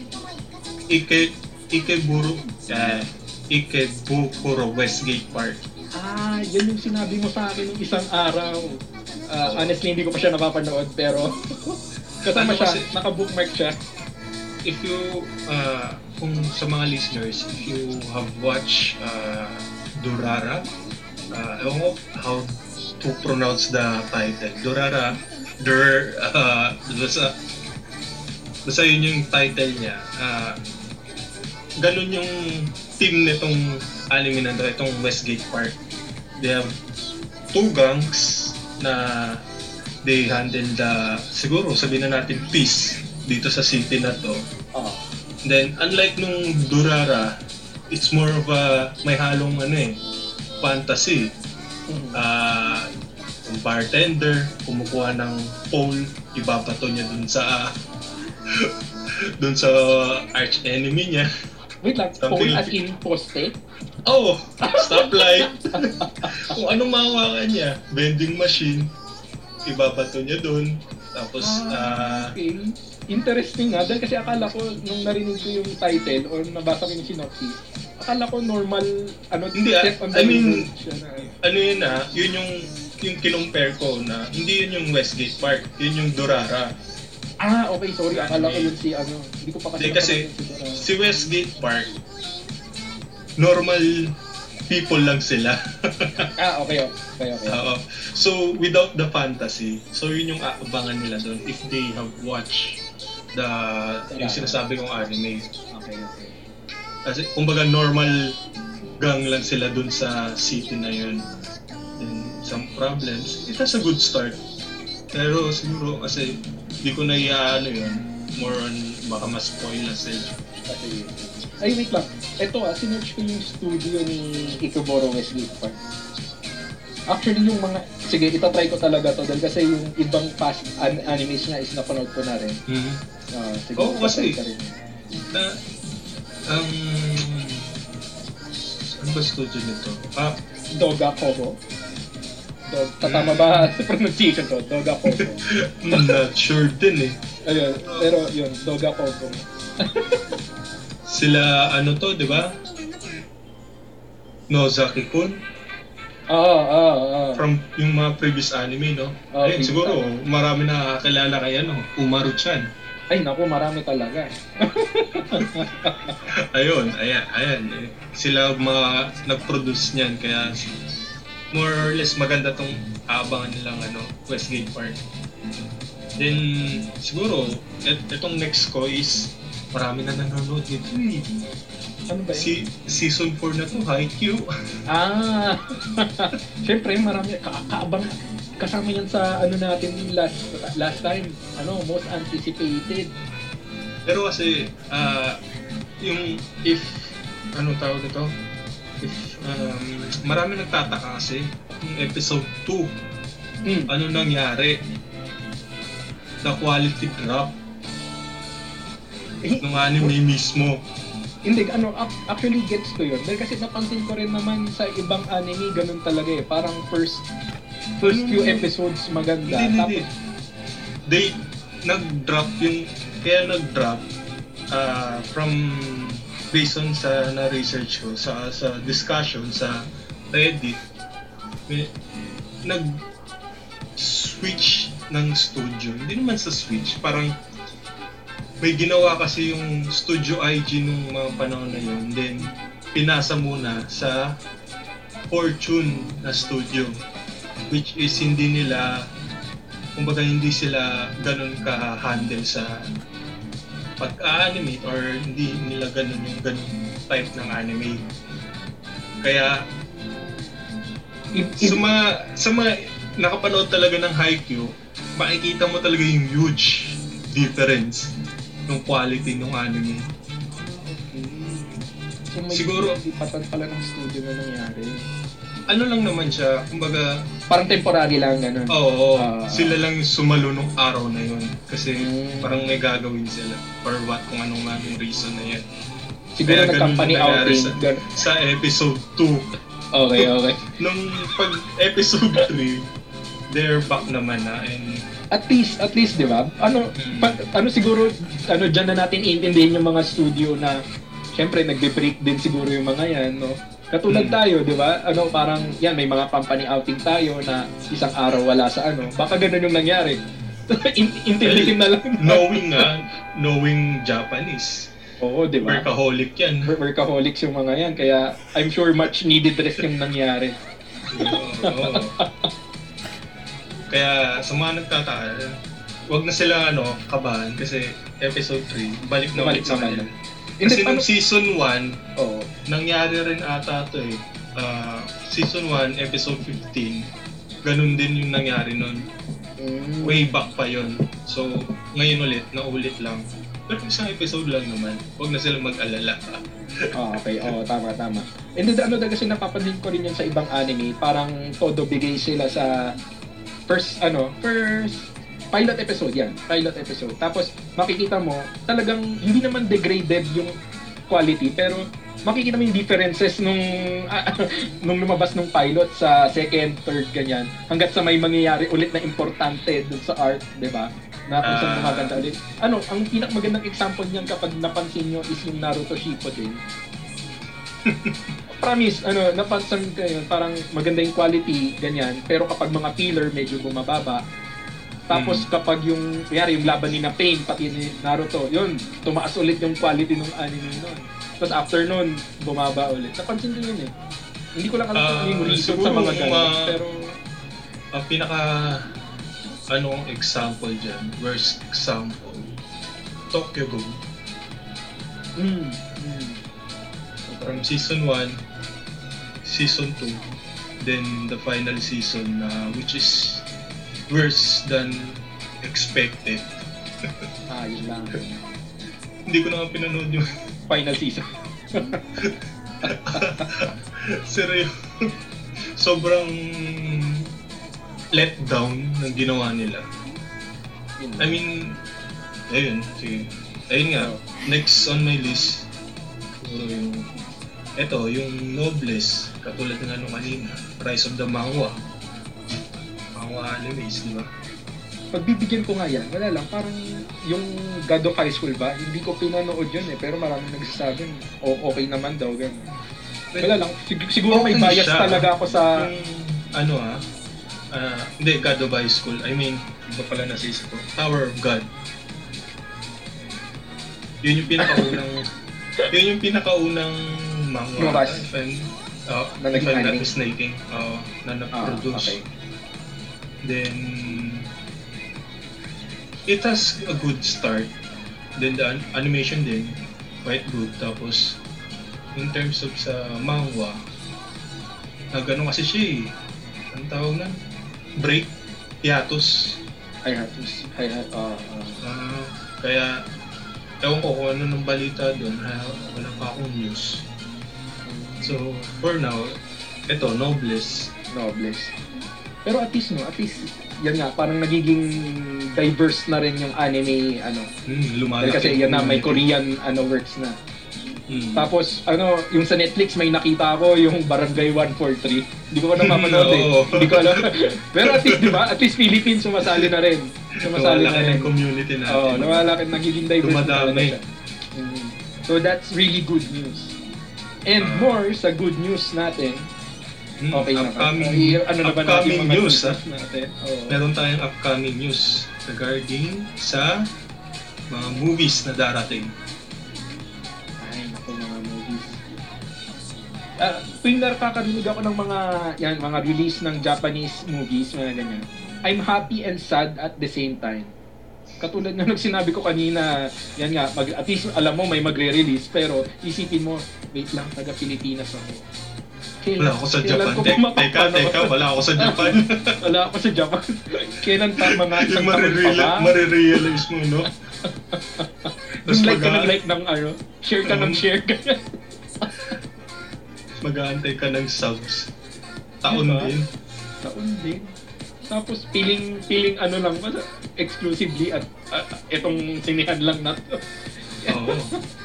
Ike, Ikeburo, uh, Ikebukuro Westgate Park. Ah, yan yung sinabi mo sa akin ng isang araw. Uh, honestly, hindi ko pa siya napapanood, pero kasama Ano siya, kasi- naka-bookmark siya. If you, uh, kung sa mga listeners, if you have watched uh, Durara, uh, ewan ko how to pronounce the title. Durara, Dur, uh, basta, basta yun yung title niya. Uh, ganun yung team nitong anime na ito, itong Westgate Park. They have two gangs na they handle the, siguro sabihin na natin, peace dito sa city na to. Oh. Then, unlike nung Durara, it's more of a, may halong ano eh, fantasy. Mhm. Ah, yung bartender, kumukuha ng pole, ibabato niya dun sa, dun sa arch enemy niya. Wait lang, Something phone as like- in poste? Oh, stoplight. Kung anong mahawakan niya, vending machine, ibabato niya dun. Tapos, ah, Okay. Interesting nga, dahil kasi akala ko, nung narinig ko yung title or nabasa ko yung synopsis, akala ko normal, ano, Hindi, ah, step on I the mean- road siya na. ano yun ah, yun yung, yung kinumpare ko na, hindi yun yung Westgate Park, yun yung Durara. Ah, okay, sorry, akala ko yun si, ano, hindi ko pa kasi Hindi, kasi napanood si Dora. si Westgate Park, normal people lang sila. Ah, okay, okay, okay. Oo. So, without the fantasy, so yun yung aabangan nila doon if they have watched the, yung sinasabi kong anime. Okay, okay. Kasi, kumbaga, normal gang lang sila doon sa city na yun. Then, some problems, it has a good start. Pero siguro, kasi, di ko na i-ano yun, more on, baka mas spoil na sila. Kasi, ay, wait lang. Ito ah, sinerch ko yung studio ni Ikeburo Westgate Park. Actually, yung mga... Sige, itatry ko talaga to dahil kasi yung ibang past an- animes niya is napanood ko na rin. Mm-hmm. Uh, sige, Oo, kasi- itatry ko rin. Na, ang... ano ba studio nito? Ah, Doga Kobo. Dog, tatama ba sa pronunciation ko? Doga Kobo. I'm not sure din eh. Ayun, pero yun, Doga Kobo. Sila, ano to, di ba? Nozaki-kun? Oo, oo, oo. From yung mga previous anime, no? Oh, Ayun, okay. siguro, marami nakakilala kay ano, Umaru-chan. Ay, naku, marami talaga. Ayun, ayan, ayan. Eh. Sila mga nag-produce niyan, kaya more or less maganda tong aabangan nilang ano, Westgate Park. Then, siguro, et, etong next ko is marami na nanonood nito eh. Ano ba yun? Si, season four na to, Haikyuu. Ah! Siyempre, marami, ka- kaabang, kasama yan sa ano natin last last time, ano, most anticipated. Pero kasi, ah, yung, if, anong tawag ito? If, um, marami nagtataka kasi, yung episode two, Mm. ano nangyari? The quality drop Eh, ng anime mismo. Hindi, ano, ac- actually gets ko yun. Dahil kasi napansin ko rin naman sa ibang anime, ganun talaga eh. Parang first first few episodes maganda. Hindi, hindi. Tapos, They, nag-drop yung, kaya nag-drop uh, from, based on sa na-research ko, sa, sa discussion, sa Reddit, may, nag-switch ng studio. Hindi naman sa switch, parang may ginawa kasi yung Studio I G nung mga panahon na yun. Then, pinasa muna sa Fortune na studio. Which is hindi nila, kumbaga hindi sila ganun ka-handle sa pag-animate or hindi nila ganun yung ganun type ng anime. Kaya, i- i- sa mga, sa mga nakapanood talaga ng Haikyuu, makikita mo talaga yung huge difference ng quality ng anime. so may siguro- ipatan pala ng studio na nangyari. Ano lang naman siya, kumbaga, Parang temporary lang, ganun. oo, Ah. sila lang sumalo nung araw na yun. Kasi Mm. parang may gagawin sila for what, kung anong nga yung reason na yan. Siguro Kaya na ganun company nangyari outing. sa- Gan- Sa episode two, okay, okay. nung pag episode three, they're back naman na and At least, at least, di ba? Ano, Mm. pa, ano siguro, ano, dyan na natin iintindihin yung mga studio na, syempre, nagbe-break din siguro yung mga yan, no? Katulad Mm. tayo, di ba? Ano, parang, yan, may mga company outing tayo na isang araw wala sa ano. Baka ganun yung nangyari. In- intindihin na lang. knowing nga, knowing Japanese, Oo, di ba? workaholic yan. Work- Workaholics yung mga yan, kaya I'm sure much needed rest yung nangyari. Oo. Kaya sa mga nagtataka, wag na sila ano, kabahan kasi episode three, balik na Balik ulit sa naman. kanila. Hindi, Kasi paano- nung season one, Oo. nangyari rin ata to eh. Ah, season one, episode fifteen, ganun din yung nangyari nun. Mm. Way back pa yon. So, ngayon ulit, naulit lang. Pero isang episode lang naman, wag na sila mag-alala. Oh, okay, oo, tama, tama. And then, ano kasi napapansin ko rin yan sa ibang anime, parang todo bigay sila sa first, ano, first pilot episode yan, pilot episode. Tapos, makikita mo, talagang hindi naman degraded yung quality, pero makikita mo yung differences nung nung lumabas nung pilot sa second, third, ganyan, hanggat sa may mangyayari ulit na importante dun sa art, di ba? Na kung saan Ah. maganda ulit. Ano, ang pinakamagandang example niyan kapag napansin nyo is yung Naruto Shippuden. Promise, ano, napansin ko yun, parang maganda yung quality, ganyan, pero kapag mga filler, medyo bumababa. Tapos Mm. kapag yung, kaya yung laban ni na Pain, pati ni Naruto, yun, tumaas ulit yung quality ng anime nun. Tapos after nun, bumaba ulit. Napansin ko yun eh. Hindi ko lang alam kung Ah, ano yung reason siguro sa mga ganun, ma- pero... Ang pinaka anong example dyan, worst example, Tokyo Ghoul. Mm, mm. From season one, season two, then the final season uh, which is worse than expected. Ah, yun lang. Hindi ko na nga pinanood yung Final season. seryo. Sobrang letdown ng ginawa nila. Yun I mean, ayun, sige. Ayun nga, next on my list, siguro yung, eto, yung Noblesse, katulad ng ano kanina, Rise of the Manhwa. Manhwa animes, di ba? Pagbibigyan ko nga yan, wala lang, parang yung God of High School ba, hindi ko pinanood yun eh, pero maraming nagsasabi, o okay naman daw, gano'n. Wala lang, sig- siguro may Okay bias siya. talaga ako sa... Yung, ano ah, ah, hindi, God of High School, I mean, iba pala nasisip ko, Tower of God. Yun yung pinakaunang, yun yung pinakaunang manga. Lumabas. If I'm- Oh, Na if naging I'm not anime? mistaken. Oh, na Ah, na-produce. okay. Then, it has a good start. Then the an- animation din, quite good. Tapos, in terms of sa manga, na gano'n kasi siya eh. Anong tawag na? Break? Hiatus. I have to see. I have, uh, uh, Ah, kaya, ewan ko kung ano nung balita doon, ha, wala pa akong news. So, for now, ito, Nobles. Nobles. Pero at least, no, at least, yan nga, parang nagiging diverse na rin yung anime, ano. Hmm, Dahil lumalaki. kasi yan na, may community. Korean, ano, works na. Hmm. Tapos, ano, yung sa Netflix, may nakita ko yung Barangay one forty-three. Hindi ko pa napapanood eh. Oo. Hindi ko alam. Pero at least, di ba? At least Philippines sumasali na rin. Sumasali na Lumalaki rin. ng community natin. Oo, lumalaki, nagiging diverse na talaga Dumadami. siya. Mm. So that's really good news. And Ah. more sa good news natin, Hmm, okay na. upcoming, I- ano na ba natin upcoming mga news, ha? natin? Oo. Meron tayong upcoming news regarding sa mga movies na darating. Ay, naku, mga movies. Ah, tuwing nakakarinig ako ng mga yan, mga release ng Japanese movies, mga ganyan. I'm happy and sad at the same time. Katulad na nung sinabi ko kanina, yan nga, mag, at least alam mo may magre-release, pero isipin mo, wait lang, taga Pilipinas ako. Kailan, Wala ako sa kailan Japan. ko Te- ba teka, mapapanood? teka, wala ako sa Japan. Wala ako sa Japan. Kailan pa mga Yung isang taon pa ba? marireal- marirealize mo, no? Yung like ka ng mag- like ng ano, share ka ng Um, share ka. mag-aantay ka ng subs. Taon Diba? din. Taon din. Tapos piling piling ano lang ba exclusively at uh, itong sinihan lang na to. Oo.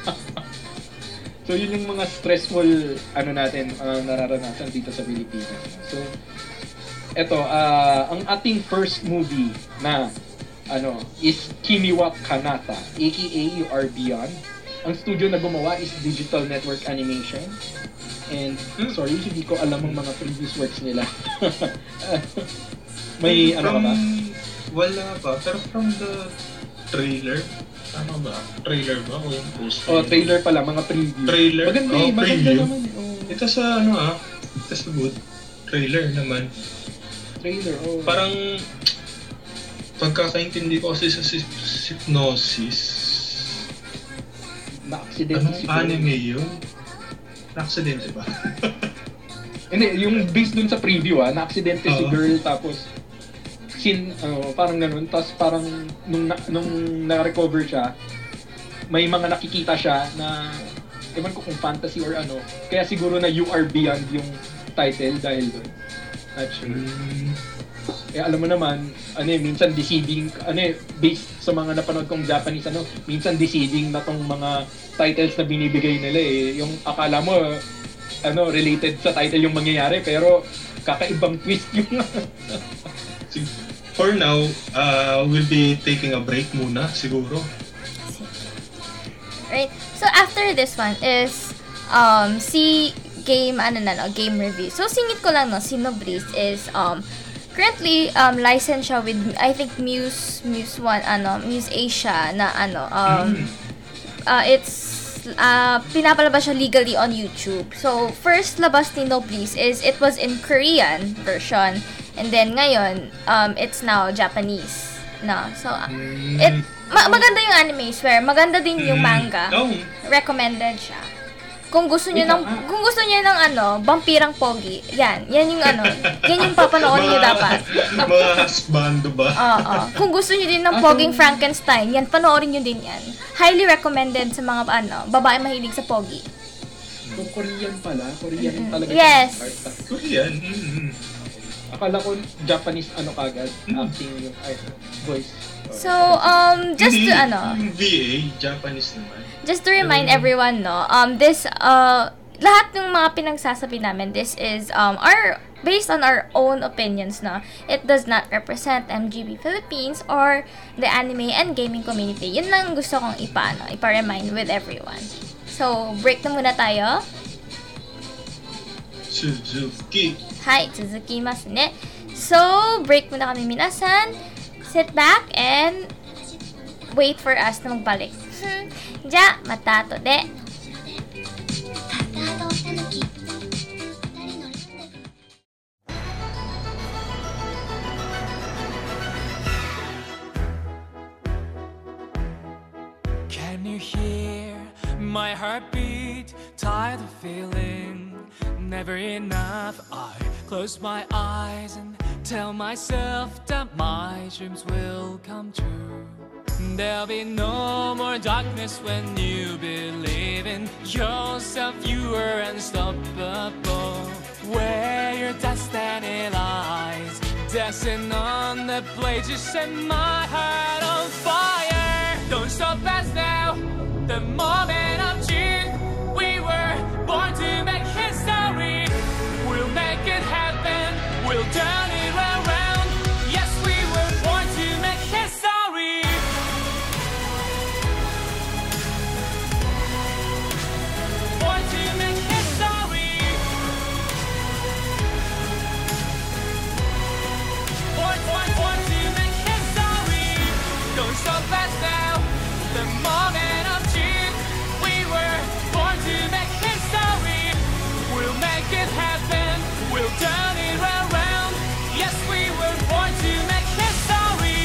So yun yung mga stressful ano natin uh, nararanasan dito sa Pilipinas. So eto uh, ang ating first movie na ano is Kimiwa Kanata aka You Are Beyond. Ang studio na gumawa is Digital Network Animation. And sorry, hindi ko alam ang mga previous works nila. May ano ka ba? Wala pa. Pero from the trailer, tama ba? Trailer ba? O yung poster? Oh, trailer pala, mga preview. Trailer? Maganda Oh, eh, maganda preview. naman eh. Oh, Ito sa ano ah, ito sa good. Trailer naman. trailer, oh. Parang pagkakaintindi ko kasi sa si- Hypnosis, na-accident anong anime yun? Na-aksidente ba? Hindi, yung based dun sa preview ah, na-accident si Oo. girl tapos sin ano, parang ganun, tapos parang nung na, nung na-recover siya, may mga nakikita siya na ewan ko kung fantasy or ano, kaya siguro na You Are Beyond yung title dahil dun. Actually. Hmm. Eh alam mo naman, ano eh, minsan deceiving, ano eh, based sa mga napanood kong Japanese, ano, minsan deceiving na tong mga titles na binibigay nila eh. Yung akala mo, ano, related sa title yung mangyayari, pero kakaibang twist yung... For now, uh, we'll be taking a break muna siguro. Right? So after this one is um si game ano na no, game review. So singit ko lang no, si Nobris is um currently um licensed siya with I think Muse Muse one ano, Muse Asia na ano um Mm. uh, it's uh, pinapalabas siya legally on YouTube. So first labas ni Nobris is it was in Korean version and then ngayon um it's now Japanese. No. So uh, Hmm. it ma- maganda yung anime, swear. Maganda din yung Hmm. manga. Oh, Recommended siya. Kung gusto niyo Wait ng lang, ah. kung gusto niyo ng ano, vampirang pogi. Yan, yan yung ano. Yan yung papanoorin niyo mga- dapat. Mga husbando ba? Oo. Kung gusto niyo din ng Ah, poging kung- Frankenstein, yan panoorin niyo din yan. Highly recommended sa mga ano, babae mahilig sa pogi. Kung Korean pala, Korean Mm-mm. talaga. Yes. yung part. Korean. Mm-hmm. Akala ko Japanese ano kagad, acting yung ay, voice. So, um, just to ano, Yung V A, Japanese naman. just to remind Mm. everyone, no, um, this, uh, lahat ng mga pinagsasabi namin, this is, um, our, based on our own opinions, no, it does not represent M G B Philippines or the anime and gaming community. Yun lang gusto kong ipa, no, ipa-remind with everyone. So, break na muna tayo. Suzuki. Hi, Suzuki-masu ne. So, break muna kami minasan. Sit back and wait for us na magbalik. Hmm. Ja, mata to de. ただのたぬき My heartbeat, tired of feeling never enough. I close my eyes and tell myself that my dreams will come true. There'll be no more darkness when you believe in yourself. You are unstoppable. Where your destiny lies, dancing on the blade, you set my heart on fire. Don't stop us now, the moment of truth. We were born to make history. We'll make it happen, we'll turn it around. Yes, we were born to make history. Born to make history. Born, born, born to make history. Don't stop us now, the moment of truth. We were born to make history. We'll make it happen, we'll turn it around. Yes, we were born to make history.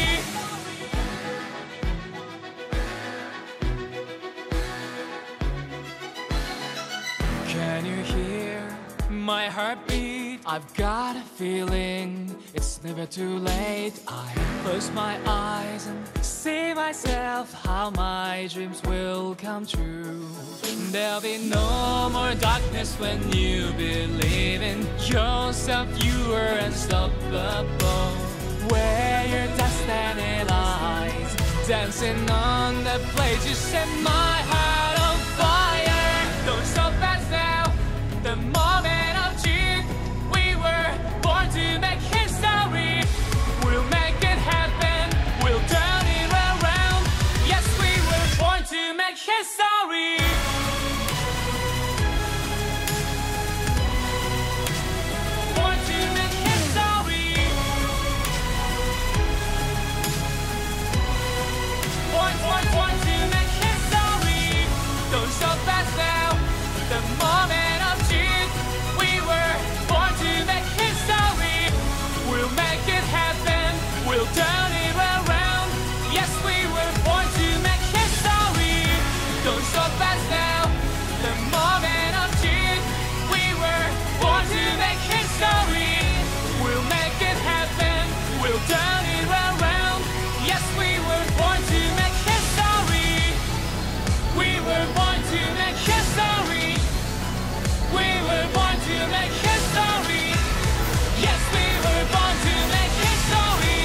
Can you hear my heartbeat? I've got a feeling it's never too late. I close my eyes and see myself how my dreams will come true. There'll be no more darkness when you believe in yourself. You are unstoppable. Where your destiny lies, dancing on the blade, you set my heart on fire. Don't stop us now, the moment of truth. We were born to make history. We'll make it happen, we'll turn it around. Yes, we were born to make history. Born to make history. Born, born, born to make history. Don't stop us now, the moment of truth. We were born to make history. We'll make it happen, we'll turn it around. Yes, we were born to make history. Don't stop us now, the moment of truth. We were born to make history. We'll make it happen, we'll turn it around. Yes, we were born to make history. We were born to make history. We were born to make history. Yes, we were born to make history.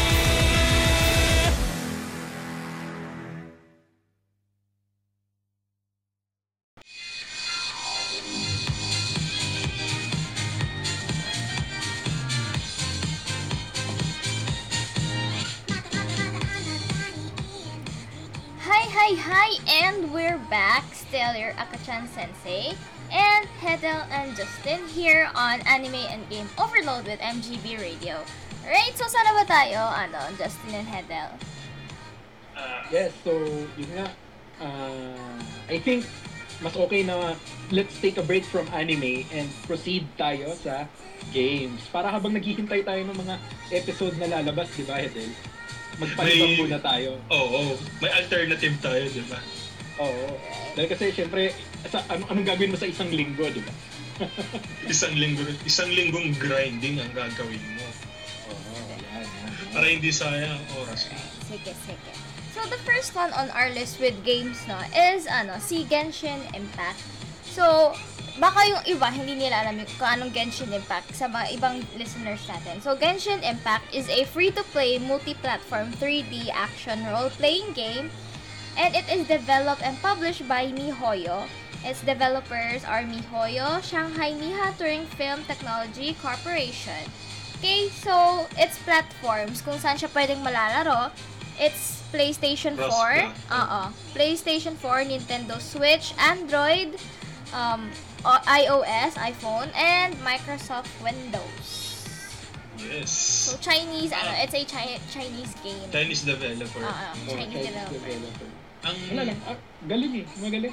Hi, hi, hi, and we're back. Still your Akachan Sensei and Hedel and Justin here on Anime and Game Overload with M G B Radio. Alright, so sana ba tayo, ano, Justin and Hedel? Yes, so yun nga. Uh, I think mas okay na let's take a break from anime and proceed tayo sa games. Para habang naghihintay tayo ng mga episode na lalabas, di ba, Hedel? Magpalibang May- muna tayo. Oo, may alternative tayo, di ba? Oo. Dahil kasi syempre, sa, anong, anong gagawin mo sa isang linggo, di ba? Isang linggo, isang linggong grinding ang gagawin mo. Oo, yan, yan. Para hindi sayang ang oras mo. Sige, sige. So, the first one on our list with games, no, is, ano, si Genshin Impact. So, baka yung iba, hindi nila alam yung kung anong Genshin Impact sa mga ibang listeners natin. So, Genshin Impact is a free-to-play, multi-platform three D action role-playing game, and it is developed and published by MiHoYo. Its developers are MiHoYo, Shanghai Niha Touring Film Technology Corporation. Okay, so, its platforms, kung saan siya pwedeng malalaro, it's PlayStation four, uh PlayStation four, Nintendo Switch, Android, um, o- iOS, iPhone, and Microsoft Windows. Yes. So Chinese, ano, it's a Chi- Chinese game. Chinese developer. Ah, ah, Oh, Chinese developer. developer. Ang, Wala lang. Ah, galing eh. Magaling.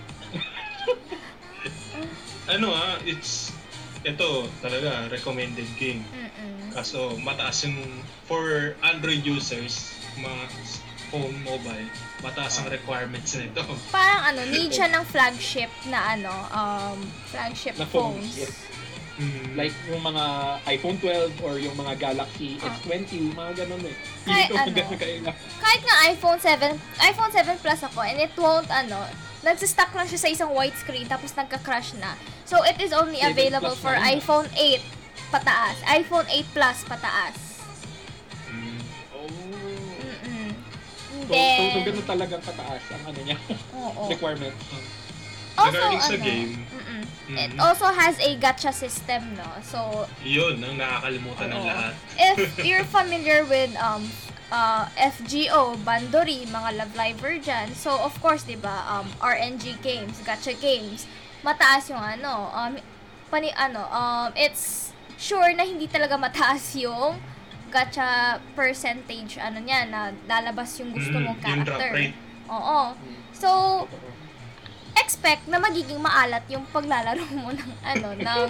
ano ah, it's, ito talaga, recommended game. Mm-mm. Kaso, mataas yung, for Android users, ma, phone, mobile, mataas ang requirements nito. Parang ano, need siya ng flagship na ano, um, flagship Na phones, phones. yes. Mm. Like yung mga iPhone twelve or yung mga Galaxy Ah. S twenty, mga ganun eh. Kahit Hindi ko ano. maganda kailangan. Kahit nga iPhone seven, iPhone seven Plus ako, and it won't, ano, nagsistuck lang siya sa isang white screen, tapos nagka-crash na. So, it is only seven available Plus for na yun. iPhone eight pataas. iPhone eight Plus pataas. Mm. Oh. Mm-mm. So, Then, so, so ganun talagang kataas ang ano niya, oo. requirement. Also, Regarding sa ano, game, mm-mm. Mhm. It also has a gacha system, no? So, yun ang nakakalimutan ng Oo. lahat. if you're familiar with um uh, F G O, Bandori, mga Love Live Virgin, so of course, 'di ba, um R N G games, gacha games, mataas yung ano, um pani ano, um it's sure na hindi talaga mataas yung gacha percentage ano niya na lalabas yung gusto Mm, mong yung drop character. rate. Oo. So, expect na magiging maalat yung paglalaro mo ng ano, ng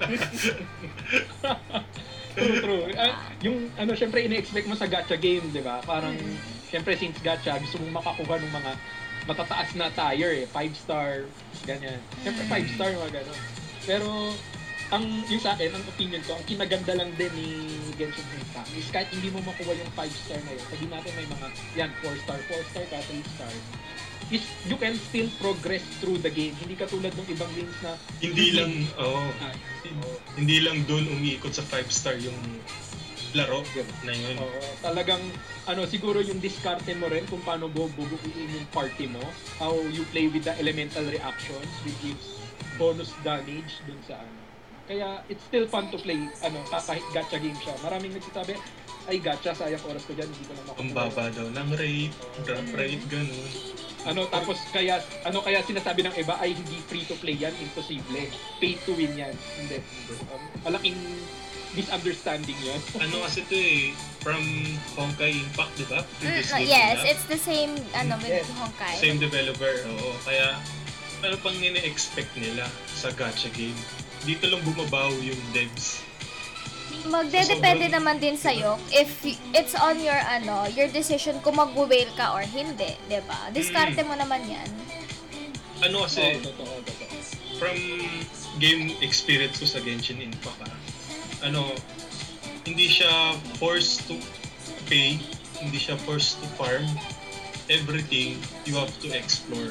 True, true. Ah, yung ano, syempre ine-expect mo sa gacha game, di ba? Parang, syempre since gacha, gusto mong makakuha ng mga matataas na tier eh. Five star, ganyan. Syempre five star, mga gano'n. Pero, ang yung sa akin, ang opinion ko, ang kinaganda lang din ni Genshin Impact is kahit hindi mo makuha yung five star na yun, sabihin natin may mga, yan, four star, four star ka, three star, is you can still progress through the game. Hindi katulad ng ibang games na Hindi lang, oh, Ah, hindi lang doon umiikot sa five star yung laro na yun. Oo, talagang ano siguro yung diskarte mo rin kung paano bububuin yung party mo, how you play with the elemental reactions which gives bonus damage dun sa ano. Kaya it's still fun to play ano kahit gacha game siya. Maraming nagsasabi, ay gacha, sayang oras ko dyan, hindi ko na makukuha. Ang baba daw ng rate, drop rate, ganun. Ano tapos kaya ano kaya sinasabi ng iba ay hindi free to play yan, imposible. Pay to win yan. Hindi. Um, malaking misunderstanding yan. Ano kasi ito eh, from Honkai Impact, di ba? Mm, Previous uh, game yes, nila. it's the same ano with Yes. Honkai. Same developer, oo. Kaya, ano pang nini-expect nila sa gacha game? Dito lang bumabaw yung devs. Magdedepende Sobrang- naman din sa'yo if y- it's on your ano, your decision kung mag-whale ka or hindi, 'di ba? Diskarte mo naman 'yan. Ano kasi, Oo, totoo, totoo. from game experience ko sa Genshin Impact, ah, ano, hindi siya forced to pay, hindi siya forced to farm. Everything you have to explore.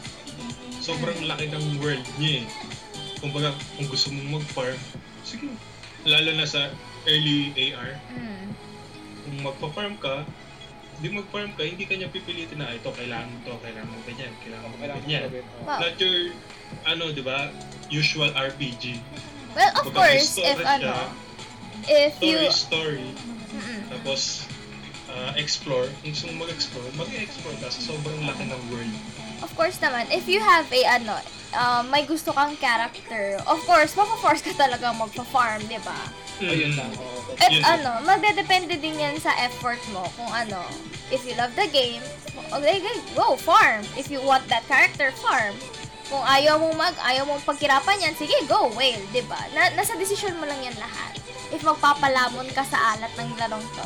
Sobrang laki ng world niya eh. Kumbaga, kung gusto mong mag-farm, sige. Lalo na sa early A R, Mm. kung magpa-farm ka, hindi mag-farm ka, hindi ka niya pipilitin na ito, kailangan mo to, kailangan mo ganyan, kailangan mo Kailangan ganyan. gawin. Oo. Wow. Not your, ano, di ba, usual R P G. Well, of Kumbaga, may course, story if siya, ano, if you Story, story, Mm-mm. tapos uh, explore. Kung gusto mong mag-explore, mag-explore ka sa sobrang laki ng world. Of course naman, if you have a ano, uh, may gusto kang character, of course, mako-force ka talaga magpa-farm, 'di ba? Ayun Mm. lang. Oo, totoo. At Yun. ano, magdedepende din yan sa effort mo kung ano. If you love the game, okay, go farm. If you want that character, farm. Kung ayaw mong mag, ayaw mong pagkirapan yan, sige, go whale, 'di ba? Na, nasa decision mo lang yan lahat. If magpapalamon ka sa alat ng larong to.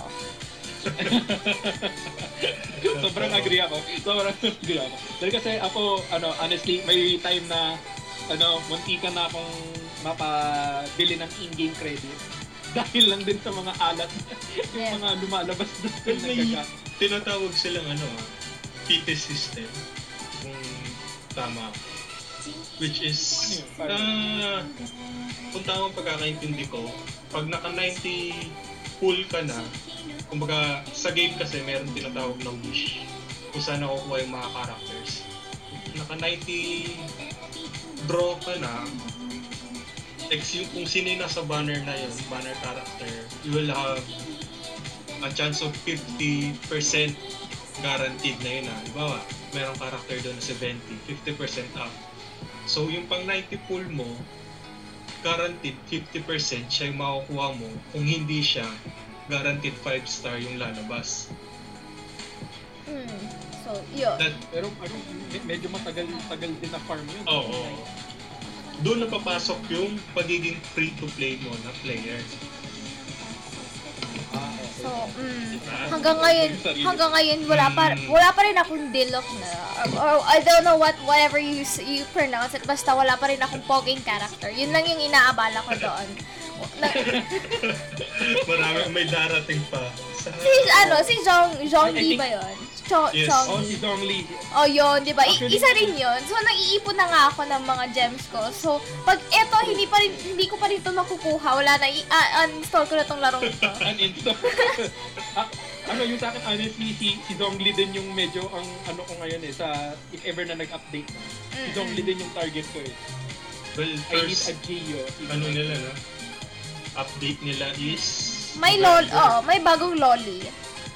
Sobrang agree ako. Sobrang agree ako. Dahil kasi ako, ano, honestly, may time na, ano, muntikan na akong mapabili ng in-game credit. Dahil lang din sa mga alat, yung Yeah. mga lumalabas doon. Well, may nagkaka- tinatawag silang ano, ah, P T system. Kung tama ako. Which is, Ano yun? ah, kung tamang pagkakaintindi ko, pag naka ninety full ka na, kumbaga sa game kasi meron tinatawag na wish kung saan nakukuha yung mga characters. Naka ninety draw ka na, ex yung kung sino yung nasa banner na yun, banner character, you will have a chance of fifty percent guaranteed na yun ah. Diba, merong character doon na seventy, fifty percent up. So yung pang ninety pull mo, guaranteed fifty percent siya yung makukuha mo kung hindi siya guaranteed five star yung lalabas. Hmm. So, yun. That, Pero ano, me- medyo matagal tagal din na farm yun. oo. Doon na papasok yung pagiging free-to-play mo na player. Ah, okay. So, Mm. Hanggang ngayon, hanggang ngayon wala pa wala pa rin akong Diluc na or, or I don't know what whatever you you pronounce it, basta wala pa rin akong poging character. Yun lang yung inaabala ko doon. Na, Marami may darating pa. Sa, si ano, si Zhong Zhongli ba 'yon? Cho, Yes. Oh, Zhongli. si Zhongli. Oh, yun, di ba? I- Actually- isa rin yun. So, nag-iipon na nga ako ng mga gems ko. So, pag eto, hindi pa rin, hindi ko pa rin ito makukuha. Wala na, i- uh, uninstall ko na tong larong ito. Uninstall. ah, ano yung sa akin, honestly, si, si Zhongli din yung medyo ang ano ko ngayon eh, sa if ever na nag-update na. Si Zhongli din yung target ko eh. well, I need first, a Geo. ano nila, no? Update nila is... May lol, oh, may bagong lolly.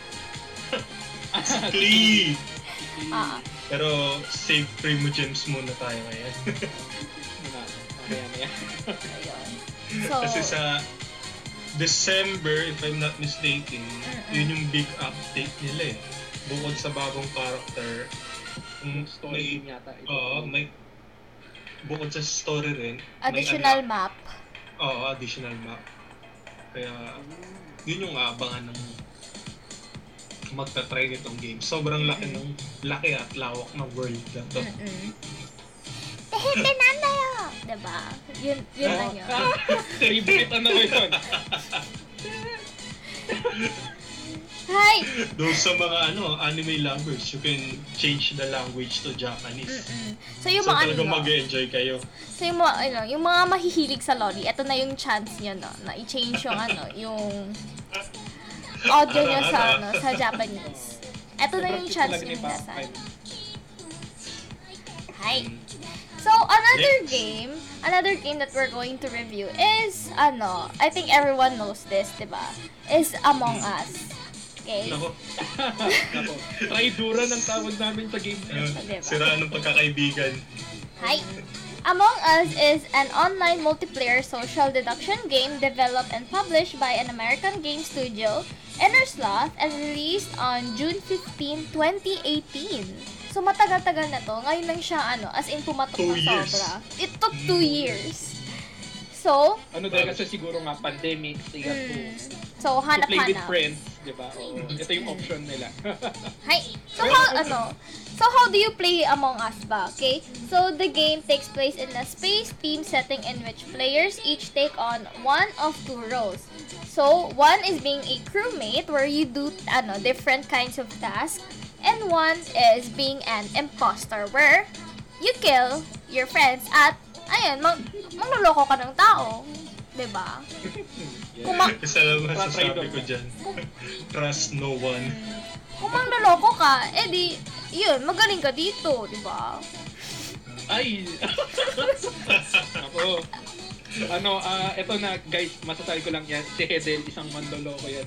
Klee! Ah, Pero save Primo Gems muna tayo ngayon. Muna, mamaya na yan. ayun. So, Kasi sa December, if I'm not mistaken, yun yung big update nila eh. Bukod sa bagong character, Yung mm, story may, yata. ito. oo, may, bukod sa story rin, additional may map. unlock- Oo, additional map. Kaya, yun yung aabangan ng magta-try nitong game. Sobrang laki ng laki at lawak ng world na to. Mm-mm. Tehete nandayo! Diba? Yun, yun lang yun. Favorite ano ko yun? Hi! Doon sa mga ano anime lovers, you can change the language to Japanese. Mm-mm. So, yung So mga talagang ano, mag-enjoy kayo. so yung mga, ano, yung mga mahihilig sa lolly, eto na yung chance nyo, no, na i-change yung ano, yung audio nyo sa, ano, sa Japanese. Eto na yung chance nyo minsan. Hi! So, another Next. game, another game that we're going to review is, ano, I think everyone knows this, diba? Is Among Us. Okay? Nako, Ako, Tridura ng tawag namin sa game na yun. uh, Diba? siraan ng pagkakaibigan. Hi! Among Us is an online multiplayer social deduction game developed and published by an American game studio, Innersloth, and released on June fifteenth, twenty eighteen. So, matagal-tagal na to. Ngayon lang siya, ano, as in pumatok Two na years. sobra. It took two years. So, Ano dahil kasi siguro nga pandemic, they have to, mm, so, to play with hanap-hanap. friends, di ba? Oo, ito yung option nila. Hi. So how ano? So how do you play Among Us ba? Okay? So the game takes place in a space team setting in which players each take on one of two roles. So one is being a crewmate where you do ano different kinds of tasks, and one is being an imposter where you kill your friends at ayun, mag mangloloko ka ng tao. 'Di ba? Kung ma- Isa lang masasabi Tridor ko na. dyan. Trust no one. kung mangloloko ka, edi yun, magaling ka dito, 'di ba? Ay! Ako. Ano, ah, eto na guys, masasabi ko lang yan, si Hedel, isang mandoloko yan.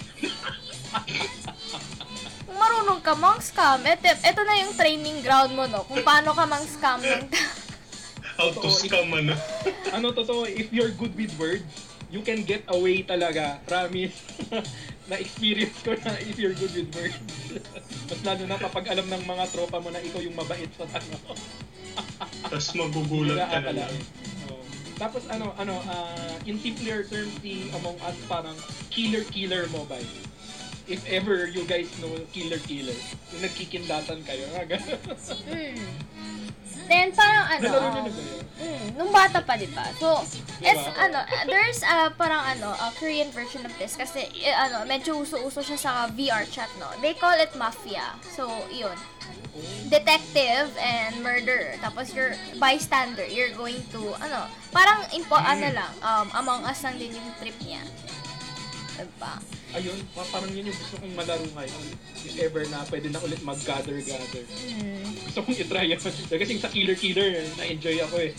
Kung marunong ka mang scam, eto, eto na yung training ground mo, no? Kung paano ka mang scam ng How to scam ano. Ano totoo, if you're good with words, you can get away talaga. Promise. Na-experience ko na if you're good with words. Mas lalo na kapag alam ng mga tropa mo na ikaw yung mabait sa ano. Tapos magugulat ka na Akala. lang. Oo. Tapos ano, ano, ah, in simpler terms, si Among Us parang killer-killer mobile. If ever you guys know killer-killer, yung nagkikindatan kayo, nga gano'n. mm. Then, parang ano, Nalaro nyo um, na ba yun? mm, nung bata pa, di ba? So, Diba? es, ano, there's a parang ano, a Korean version of this kasi, eh, ano, medyo uso-uso siya sa V R chat, no? They call it Mafia. So, yun. Detective and murderer. Tapos you're bystander. You're going to, ano, parang, impo, ano lang, um, Among Us lang din yung trip niya. Diba? Ayun, pa- parang yun yung gusto kong malaro ngayon. If ever na pwede na ulit mag-gather-gather. Mm. Gusto kong itry yun. Kasi sa killer-killer, na-enjoy ako eh.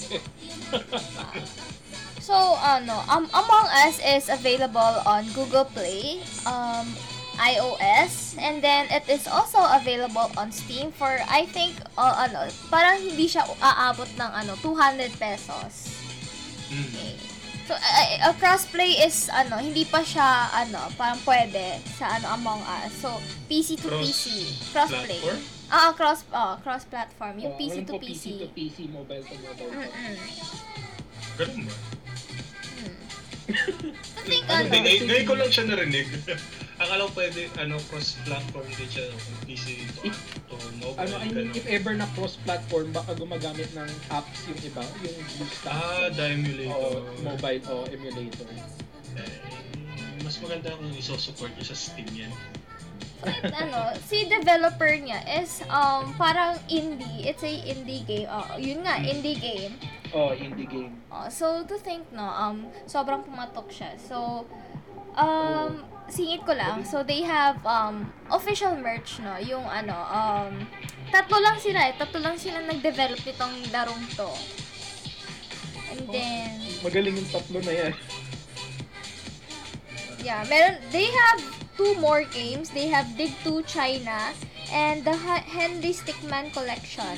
So, ano, um, Among Us is available on Google Play, um, iOS, and then it is also available on Steam for, I think, uh, ano, parang hindi siya aabot ng, ano, two hundred pesos. Mm. Okay. So, uh, uh, crossplay is, ano, hindi pa siya, ano, parang pwede sa, ano, Among Us. So, P C to Cross P C. Crossplay. platform? Ah, cross, oh, cross-platform. Yung Oh, P C walang to po P C. P C to P C, mobile to mobile. Mm-mm. Ganun ba? I think, Ano ano, Hindi, ngayon, ngayon ko lang siya narinig. alam pwede, ano, cross-platform din siya, P C to, If- to mobile, Ano, I mean, ganun. if ever na cross-platform, baka gumagamit ng apps yung iba, yung boost Ah, the emulator. o mobile o emulator. Eh, mas maganda kung iso-support niya sa Steam yan. ano, si developer niya is um parang indie. It's a indie game. Oh, yun nga, indie game. Oh, indie game. Oh, so to think no, um sobrang pumatok siya. So um singit ko lang. So they have um official merch no, yung ano um tatlo lang sila, eh. tatlo lang sila nag-develop nitong larong to. And then Magaling yung tatlo na yan. yeah, meron they have two more games. They have Dig two China and the Ha- Henry Stickman Collection.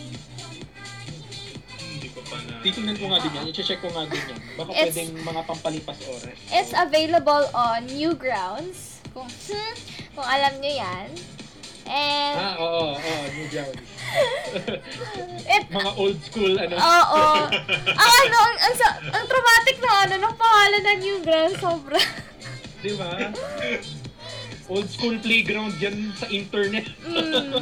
Hindi ko pa na... Titingnan ko nga din yan. I-check ko nga din yan. Baka It's- pwedeng mga pampalipas oras. It's available on Newgrounds. Kung kung alam niyo 'yan. And Ah, oo, oo, New Ground. it Mga old school, ano. Oo. Ang ano, ang, ang, sa- ang traumatic na ano, ng pangalan ng Newgrounds, sobra. Di ba? Old school playground yan sa internet. Mm.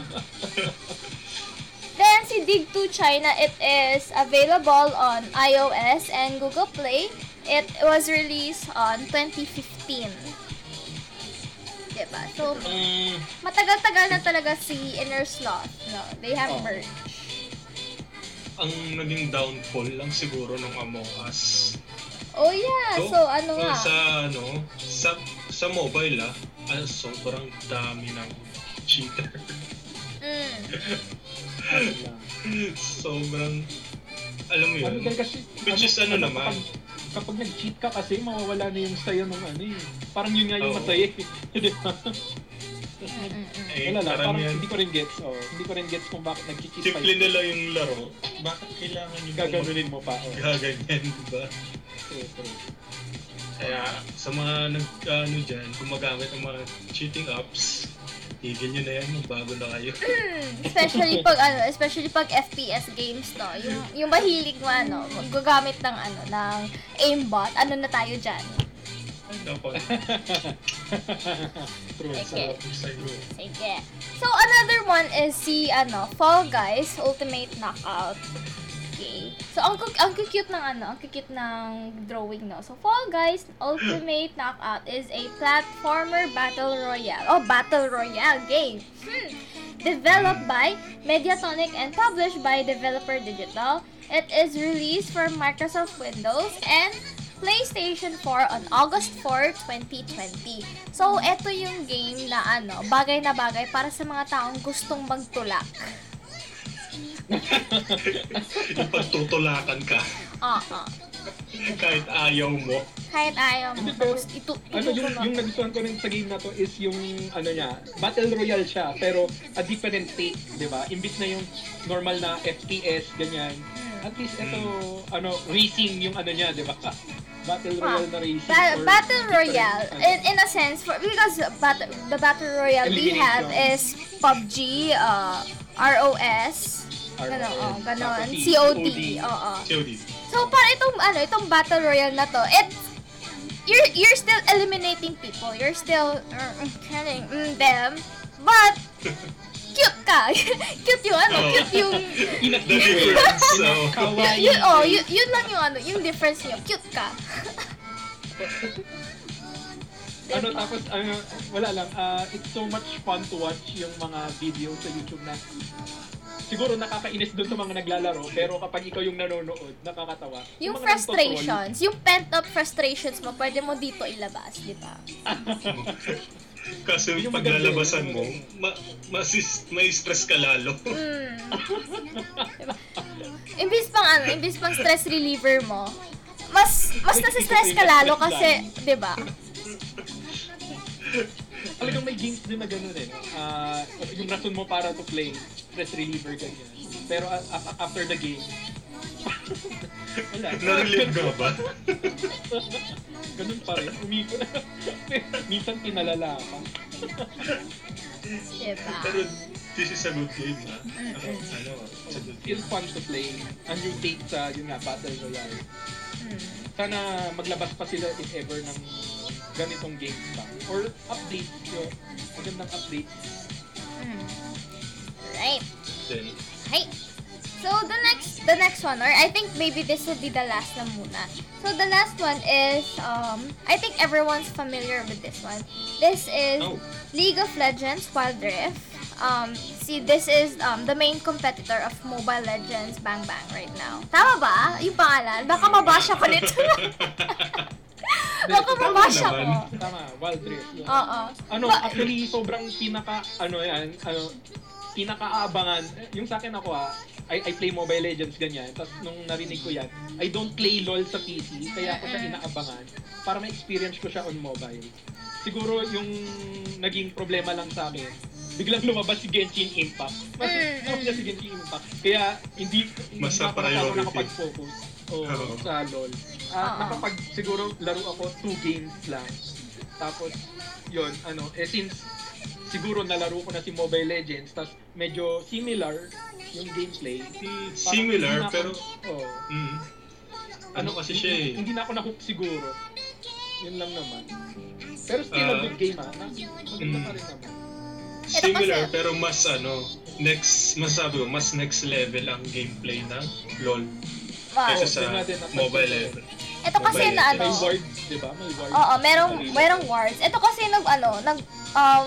Then, si Dig two China, it is available on iOS and Google Play. It was released on twenty fifteen. Diba? So, Mm, matagal-tagal na talaga si Inner Sloth. No, they have Oh. merch. ang naging downfall lang siguro ng Among Us. Oh yeah, so, ano so nga. sa ano, sa sa mobile ah, ano, sobrang dami ng cheater. Mm. Ano lang. Sobrang alam mo Ano yun. dahil kasi... Which is ano naman? Kapag, kapag nag-cheat ka kasi, mawawala na yung saya ng ano eh. Parang yun nga yung Oo. masaya eh. Di ba? Mm-mm. Eh, Wala lang, parang parang yan, hindi ko rin gets. Oh, hindi ko rin gets kung bakit nag-cheat pa simple na lang yung laro. Bakit kailangan yung Gaganunin mo pa. Oh. gaganyan, diba? True, true. Kaya sa mga nag ano dyan, gumagamit ng mga cheating apps, tigil nyo na yan, magbago na kayo. Mm, especially pag ano, especially pag F P S games to. Yung yung mahilig mo ano, magagamit ng ano, ng aimbot. Ano na tayo diyan? Ay, dapat. True. Okay. Sarap yung sa'yo. Sige. So another one is si ano, Fall Guys Ultimate Knockout. Okay. So ang cu- ang cute ng ano, ang cute ng drawing no. So Fall Guys Ultimate Knockout is a platformer battle royale. Oh, battle royale game. Hmm. Developed by Mediatonic and published by Developer Digital. It is released for Microsoft Windows and PlayStation four on August fourth, twenty twenty. So, eto yung game na ano, bagay na bagay para sa mga taong gustong magtulak. Yung pagtutulakan ka, Oo. kahit ayaw mo. Kahit ayaw mo. Hindi, pero, Tapos ito, ito Ano yung, yung nagustuhan ko rin sa game na to is yung ano niya, battle royale siya pero a different take, 'di ba? Imbis na yung normal na F P S ganyan. At least ito ano racing yung ano niya, 'di ba? Battle royale na racing. Ba- or battle different, royale, ano. in, in a sense, for, because bat- the battle royale we have is Elimination. P U B G, uh, R O S, Ganon, oh, ganon. Tapos C O D, C O D. oo. C O D. So, para itong, ano, itong battle royale na to, it, you're, you're still eliminating people. You're still, uh, killing mm, them. But, cute ka. Cute yung, ano, Oo. cute yung, The difference, so... Kawaii. yun, oh, yun, yun lang yung, ano, yung difference niyo. Cute ka. Ano tapos ano wala lang ah, it's so much fun to watch yung mga video sa YouTube na siguro nakakainis doon sa mga naglalaro pero kapag ikaw yung nanonood nakakatawa. Yung mga nagtotroll, frustrations, yung pent-up frustrations mo, pwede mo dito ilabas, di ba? Kasi Yung paglalabasan maganda mo, yun. ma masis may stress ka lalo. Mm. Diba? Imbis pang ano, imbis pang stress reliever mo, mas mas nasa-stress ka lalo kasi, 'di ba? Talagang may games din na gano'n eh. Ah, yung rason mo para to play, stress reliever ganyan. Pero a- a- after the game, wala. Na-relieve ka ba? Ganun pa rin. Umiko na. Minsan pinalala pa. Diba? Pero this is a good game, ha? Ano, ano, it's a good game. It's fun to play. Ang new take sa, yun nga, Battle Royale. Mm. Sana maglabas pa sila if ever ng ganitong games pa. Or update, yung magandang update. Mm. Right. Then, Hey. So the next the next one, or I think maybe this will be the last na muna. So the last one is um I think everyone's familiar with this one. This is Oh. League of Legends Wild Rift. Um see, this is um the main competitor of Mobile Legends Bang Bang right now. Tama ba? Yung pangalan? Baka mabash ako nito. Baka Tama mabash naman. ako. Tama, Wild Rift. Yun. Oo. Ano, Ba- actually, sobrang pinaka, ano yan, ano, pinaka-aabangan, yung sa akin ako ah, I, I play Mobile Legends ganyan, tapos nung narinig ko yan, I don't play LOL sa P C, kaya ako siya inaabangan para ma-experience ko siya on mobile. Siguro yung naging problema lang sa akin, biglang lumabas si Genshin Impact. Mas Mm, mm, niya si Genshin Impact. Kaya hindi, hindi Mas na ako masyado priority. nakapag-focus oh, Oo. sa LOL. Ah, Oo. nakapag siguro laro ako two games lang. Tapos yun, ano, eh since siguro nalaro ko na si Mobile Legends, tapos medyo similar yung gameplay. Hindi Parang similar, hindi na ako- pero, oh, mm, ano kasi siya eh. Hindi, hindi na ako na-hook siguro. Yun lang naman. Pero still a Ah. good game ah. Na- Maganda Mm. pa rin naman. Similar, kasi- pero mas ano, next, mas sabi ko, mas next level ang gameplay ng LOL Wow. kaysa sa Yun natin, napansin mobile ko. level. Ito kasi Mobile na Legends. ano. May wards, di ba? May wards. Oo, merong Sarili. merong wards. Ito kasi nag ano, nag um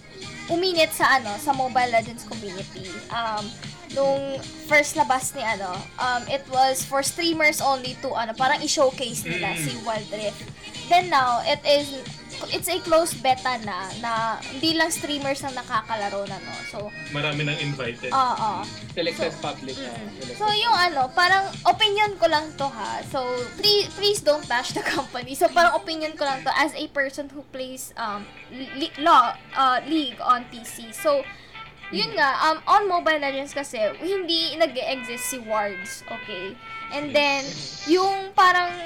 uminit sa ano, sa Mobile Legends community. Um nung first labas ni ano, um it was for streamers only to ano, parang i-showcase nila Mm. si Wild Rift. Then now, it is it's a closed beta na na hindi lang streamers ang nakakalaro na, no. So, Marami nang invited. oo. Selected So- public. ah, Mm. selected. So, yung ano, parang opinion ko lang to ha. So, please, please don't bash the company. So, parang opinion ko lang to as a person who plays um li- law, uh, League on P C. So, yun nga, um, on Mobile Legends kasi, hindi nag-exist si wards, okay? And then, yung parang,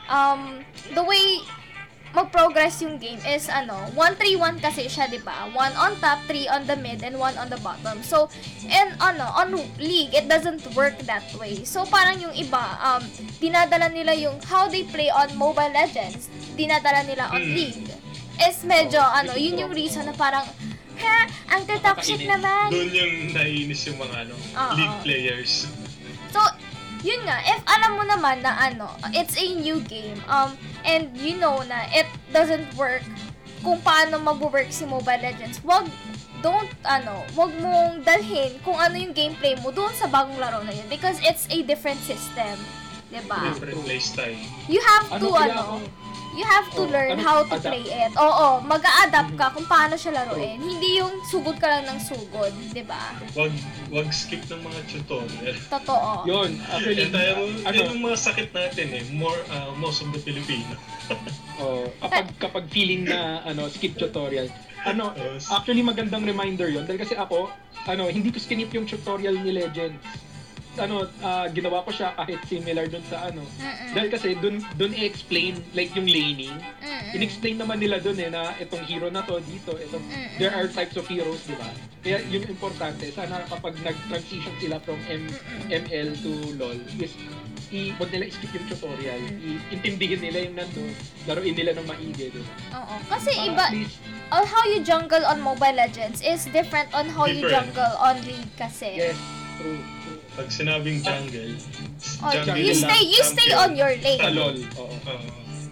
um, the way mag-progress yung game is ano, one three one kasi siya, 'di ba? One on top, three on the mid, and one on the bottom. So, and ano, on League, it doesn't work that way. So, parang yung iba, um, dinadala nila yung how they play on Mobile Legends, dinadala nila on Hmm. League. Is medyo, Oh, ano, yun yung reason na parang, ha, ang toxic Nakakainis. naman. Doon yung naiinis yung mga ano, Oo. league players. So, yun nga, if alam mo naman na ano, it's a new game, um, and you know na it doesn't work kung paano mag-work si Mobile Legends, wag, don't, ano, wag mong dalhin kung ano yung gameplay mo doon sa bagong laro na yun because it's a different system. Diba? Different playstyle. You have to, Ano kaya ano, ako- you have to Oh, learn ano, how to adapt. play it. Oo, mag-a-adapt ka kung paano siya laruin. Hindi yung sugod ka lang ng sugod, diba? Wag wag skip ng mga tutorial. Totoo. Yun, actually, Yan tayo, ano, yun yung mga sakit natin eh. More, uh, most of the Filipino. oh, kapag, kapag feeling na, ano, skip tutorial, ano, Yes. actually magandang reminder yun, dahil kasi ako, ano, hindi ko skinip yung tutorial ni Legends. Ano, ah, ginawa ko siya kahit similar dun sa ano. Mm-mm. Dahil kasi dun, dun i-explain, like yung laning, Mm-mm. in-explain naman nila dun eh, na itong hero na to, dito, itong, Mm-mm. there are types of heroes, di ba? Kaya yun yung importante, sana kapag nag-transition sila from M- Mm-mm. ML to LOL, is, i, wag nila i-skip yung tutorial, i-intindihin nila yung nandun, laruin nila ng maigi, di ba? Oo. Kasi Para iba, at least, on how you jungle on Mobile Legends is different on how you Different. jungle on League kasi. yes, true, true. Pag sinabing jungle, Oh, jungle you lang, stay, you stay champion. on your Sa lane. LOL, oo. Oo.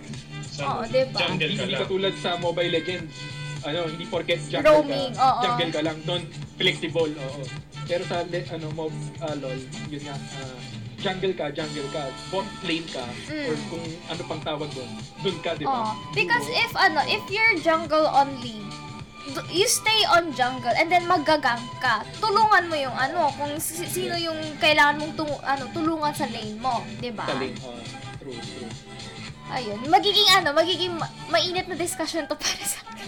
Sa Oo, diba? jungle Hindi, ka hindi lang. katulad sa Mobile Legends, ano, hindi porket jungle Roaming, ka, oo. jungle ka lang, doon flexible, oo. Pero sa le- ano, mob, ah, LOL, yun nga, ah, jungle ka, jungle ka, bot lane ka, Mm. or kung ano pang tawag doon, doon ka, di ba? Oh, because Duo. if ano, if you're jungle on League, d- you stay on jungle and then maggagang ka. Tulungan mo yung ano, kung si- sino yung kailangan mong tu- ano, tulungan sa lane mo, 'di ba? Sa lane, oo. True, true. Ayun, magiging ano, magiging ma- mainit na discussion to para sa akin.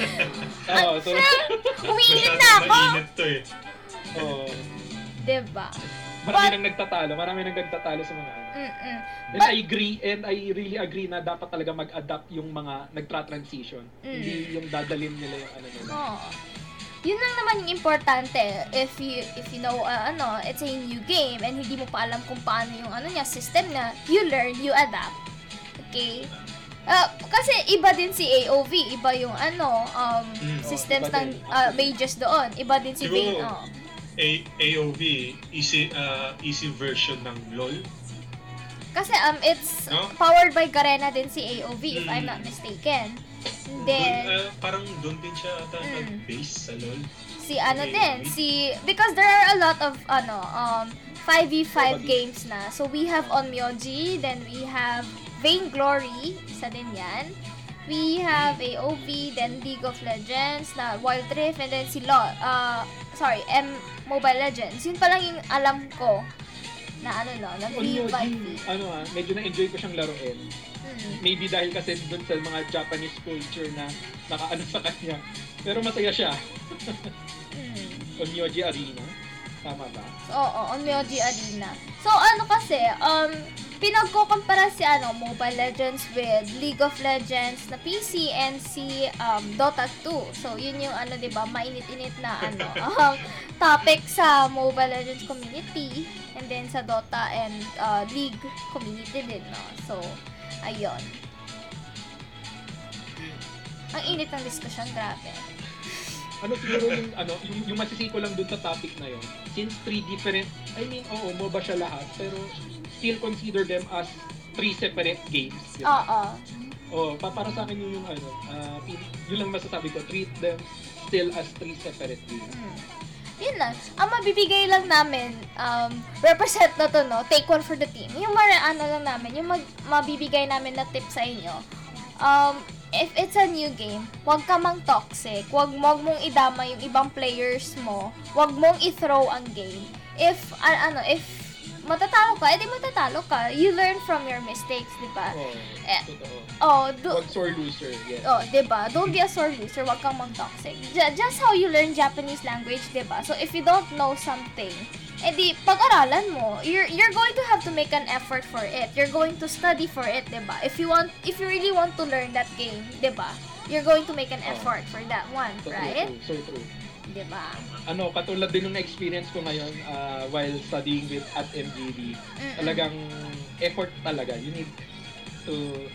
Oo, so, Umiinit Masyado na ako, mainit to eh. oo. 'di ba? Marami But- nang nagtatalo, marami nang nagtatalo sa mga ano. Mm-mm. And But- I agree, and I really agree na dapat talaga mag-adapt yung mga nagtra-transition. Mm. Hindi yung dadalhin nila yung ano nila. Oo. Yun lang naman yung importante. If you if you know uh, ano, it's a new game and hindi mo pa alam kung paano yung ano niya system na, you learn, you adapt. Okay? Ah, kasi iba din si A O V, iba yung ano, um, Mm. systems iba ng din. ah, mages doon. Iba din si Vayne. Siguro, Oh. A AOV, easy uh, easy version ng LoL. Kasi um, it's No? powered by Garena din si A O V, if Mm. I'm not mistaken. Dun, Then, uh, parang doon din siya ata Mm. nag-base sa LoL. si ano A O V. din, si, because there are a lot of, ano, um, five v five Probably. games na. So, we have Onmyoji, then we have Vainglory, isa din yan. We have A O V, then League of Legends, na Wild Rift, and then si LoL, uh, sorry, M Mobile Legends. Yun pa lang yung alam ko na ano no, na On V Yoji, five V. ano ah, medyo na-enjoy ko siyang laruin. Mm. Maybe dahil kasi dun sa mga Japanese culture na nakaano sa kanya. Pero masaya siya. Mm. Onmyoji Arena. Tama ba? So, oo, Onmyoji Arena. So, ano kasi, um, pinagkukumpara si ano, Mobile Legends with League of Legends na P C and si um, Dota two. So, yun yung ano, di ba, mainit-init na ano, um, topic sa Mobile Legends community and then sa Dota and uh, League community din, no? So, ayun. Ang init ng diskusyon, grabe. Ano siguro yung ano, yung, yung masisiko lang dun sa topic na yon. Since three different, I mean, oo, MOBA siya lahat, pero still consider them as three separate games. di ba? Oo. Oh, pa para sa akin yun yung ano, ah, pin- yun lang masasabi ko, treat them still as three separate games. Hmm. Yun lang. Ang mabibigay lang namin, um, represent na to, no? Take one for the team. Yung mara, ano lang namin, yung mag, mabibigay namin na tip sa inyo. Um, if it's a new game, huwag ka mang toxic. Huwag, huwag mong idama yung ibang players mo. Huwag mong i-throw ang game. If, a- ano, if matatalo ka, edi matatalo ka. You learn from your mistakes, di ba? Oh, Eh, totoo. Oh, do, Wag sore loser, yes. Oh, 'di ba? Don't be a sore loser, wag kang mag-toxic. J- just how you learn Japanese language, 'di ba? So if you don't know something, edi pag-aralan mo. You're you're going to have to make an effort for it. You're going to study for it, 'di ba? If you want if you really want to learn that game, 'di ba? You're going to make an effort for that one, So right? true, so true. 'Di ba? Ano, katulad din ng experience ko ngayon ah, while studying with at M G B. Mm-mm. Talagang effort talaga. You need to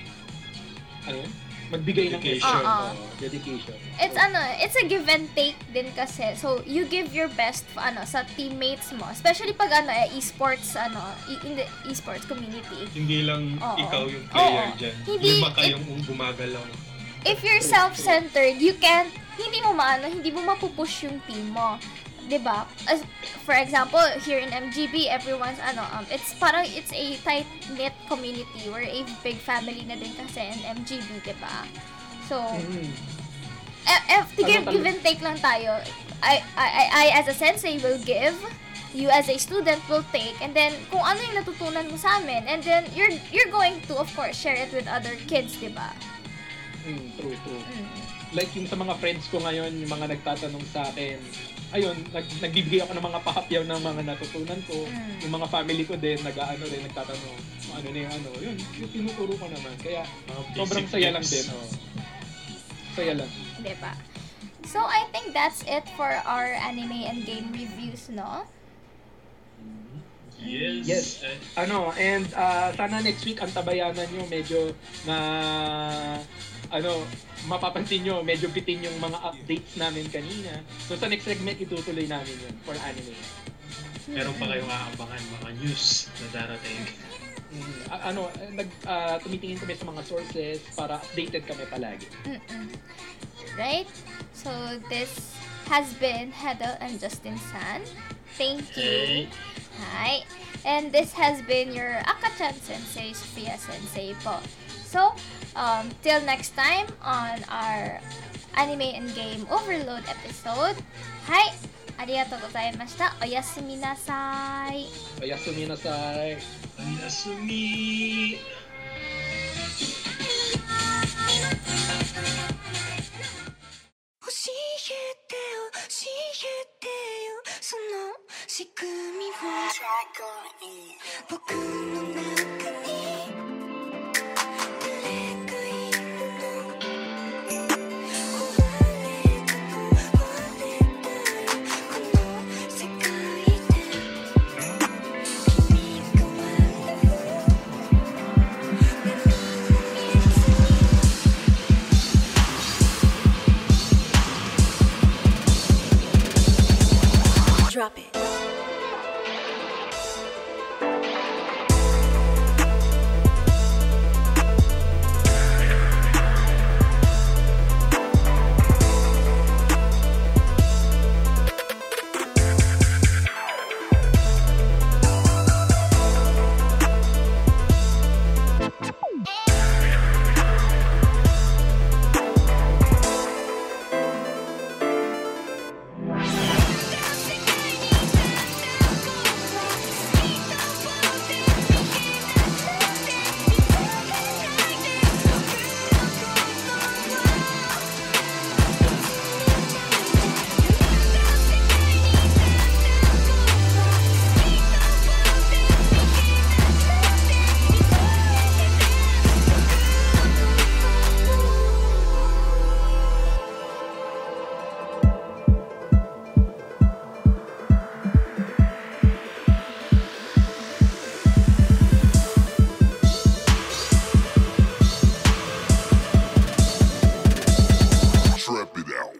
ano yun? Magbigay ng Dedication. effort. Oo. oh, dedication. It's ano, it's a give and take din kasi. So you give your best ano sa teammates mo, especially pag ano eh, esports ano, i- in the esports community. Hindi lang Oo. ikaw yung player Oo. dyan. Hindi- Lima kayong um, gumagalaw. If you're self-centered, you can't, hindi mo maano, hindi mo mapupush yung team mo. 'Di ba? As for example, here in M G B, everyone's ano, um, it's parang it's a tight-knit community. We're a big family na din kasi in M G B, 'di ba? So, Mhm. eh, eh, to give, Ano give and take lang tayo. I, I, I, I as a sensei will give, you as a student will take, and then kung ano yung natutunan mo sa amin, and then you're you're going to, of course, share it with other kids, 'di ba? Mm, true, true. Mm. Like yung sa mga friends ko ngayon, yung mga nagtatanong sa akin, ayun, nag, nagbibigay ako ng mga pahapyaw ng mga natutunan ko. Mm. Yung mga family ko din, nag-ano rin, nagtatanong, kung ano na yung ano. Yun, yung tinuturo ko naman. Kaya, Mga sobrang basic saya lang tips. din. Oh. Saya lang. Diba? So, I think that's it for our anime and game reviews, no? Yes. Yes. Eh, Ano, and ah, sana next week ang tabayanan nyo medyo na ano, mapapansin nyo, medyo bitin yung mga updates namin kanina. So sa next segment, itutuloy namin yun for anime. meron pa kayong aabangan mga news na darating. Mm, a- ano, eh, nag, ah, tumitingin kami sa mga sources para updated kami palagi. Mm-mm. Right? So, this has been Hedel and Justin San. Thank you. Hey. Hi. And this has been your Akachan Sensei, Sophia Sensei po. So, um, till next time on our anime and game overload episode. Hi. Arigatou gozaimashita. Oyasumi nasai. Oyasumi nasai. Ayasumi! 教えてよ教えてよその仕組みを僕の中にどれかいるの壊れた壊れたらこの世界で君が笑う目の見えずに trap it out.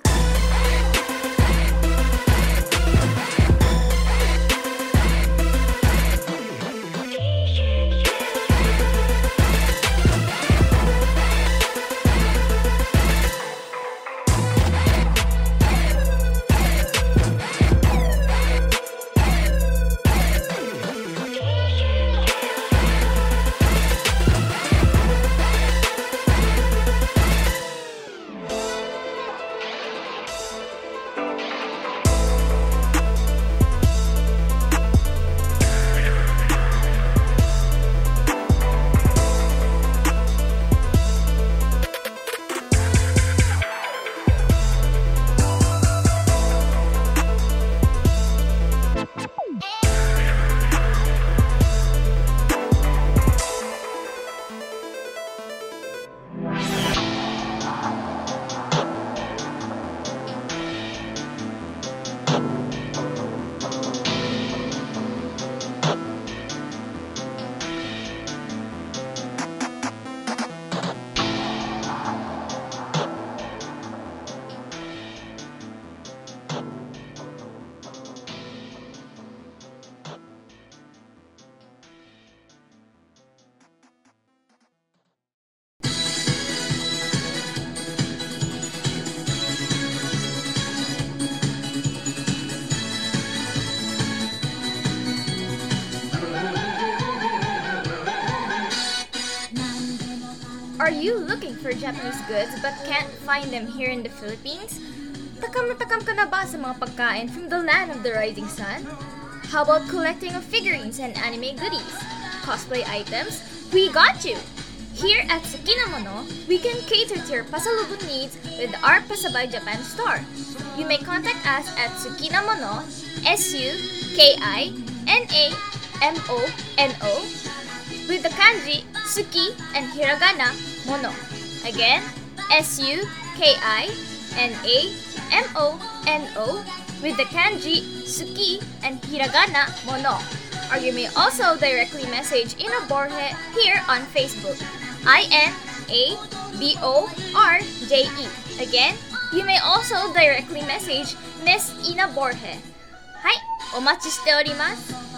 Are you looking for Japanese goods but can't find them here in the Philippines? Takam na takam ka na ba sa mga pagkain from the land of the rising sun? How about collecting of figurines and anime goodies? Cosplay items? We got you! Here at Tsukinamono, we can cater to your pasalubong needs with our Pasabay Japan store. You may contact us at Tsukinamono, S U K I N A M O N O, with the kanji Tsuki and hiragana Mono. Again, S U K I N A M O N O, with the kanji Tsuki and hiragana Mono. Or you may also directly message Ina Borje here on Facebook. I N A B O R J E. Again, you may also directly message Miss Ina Borje. はい、お待ちしております。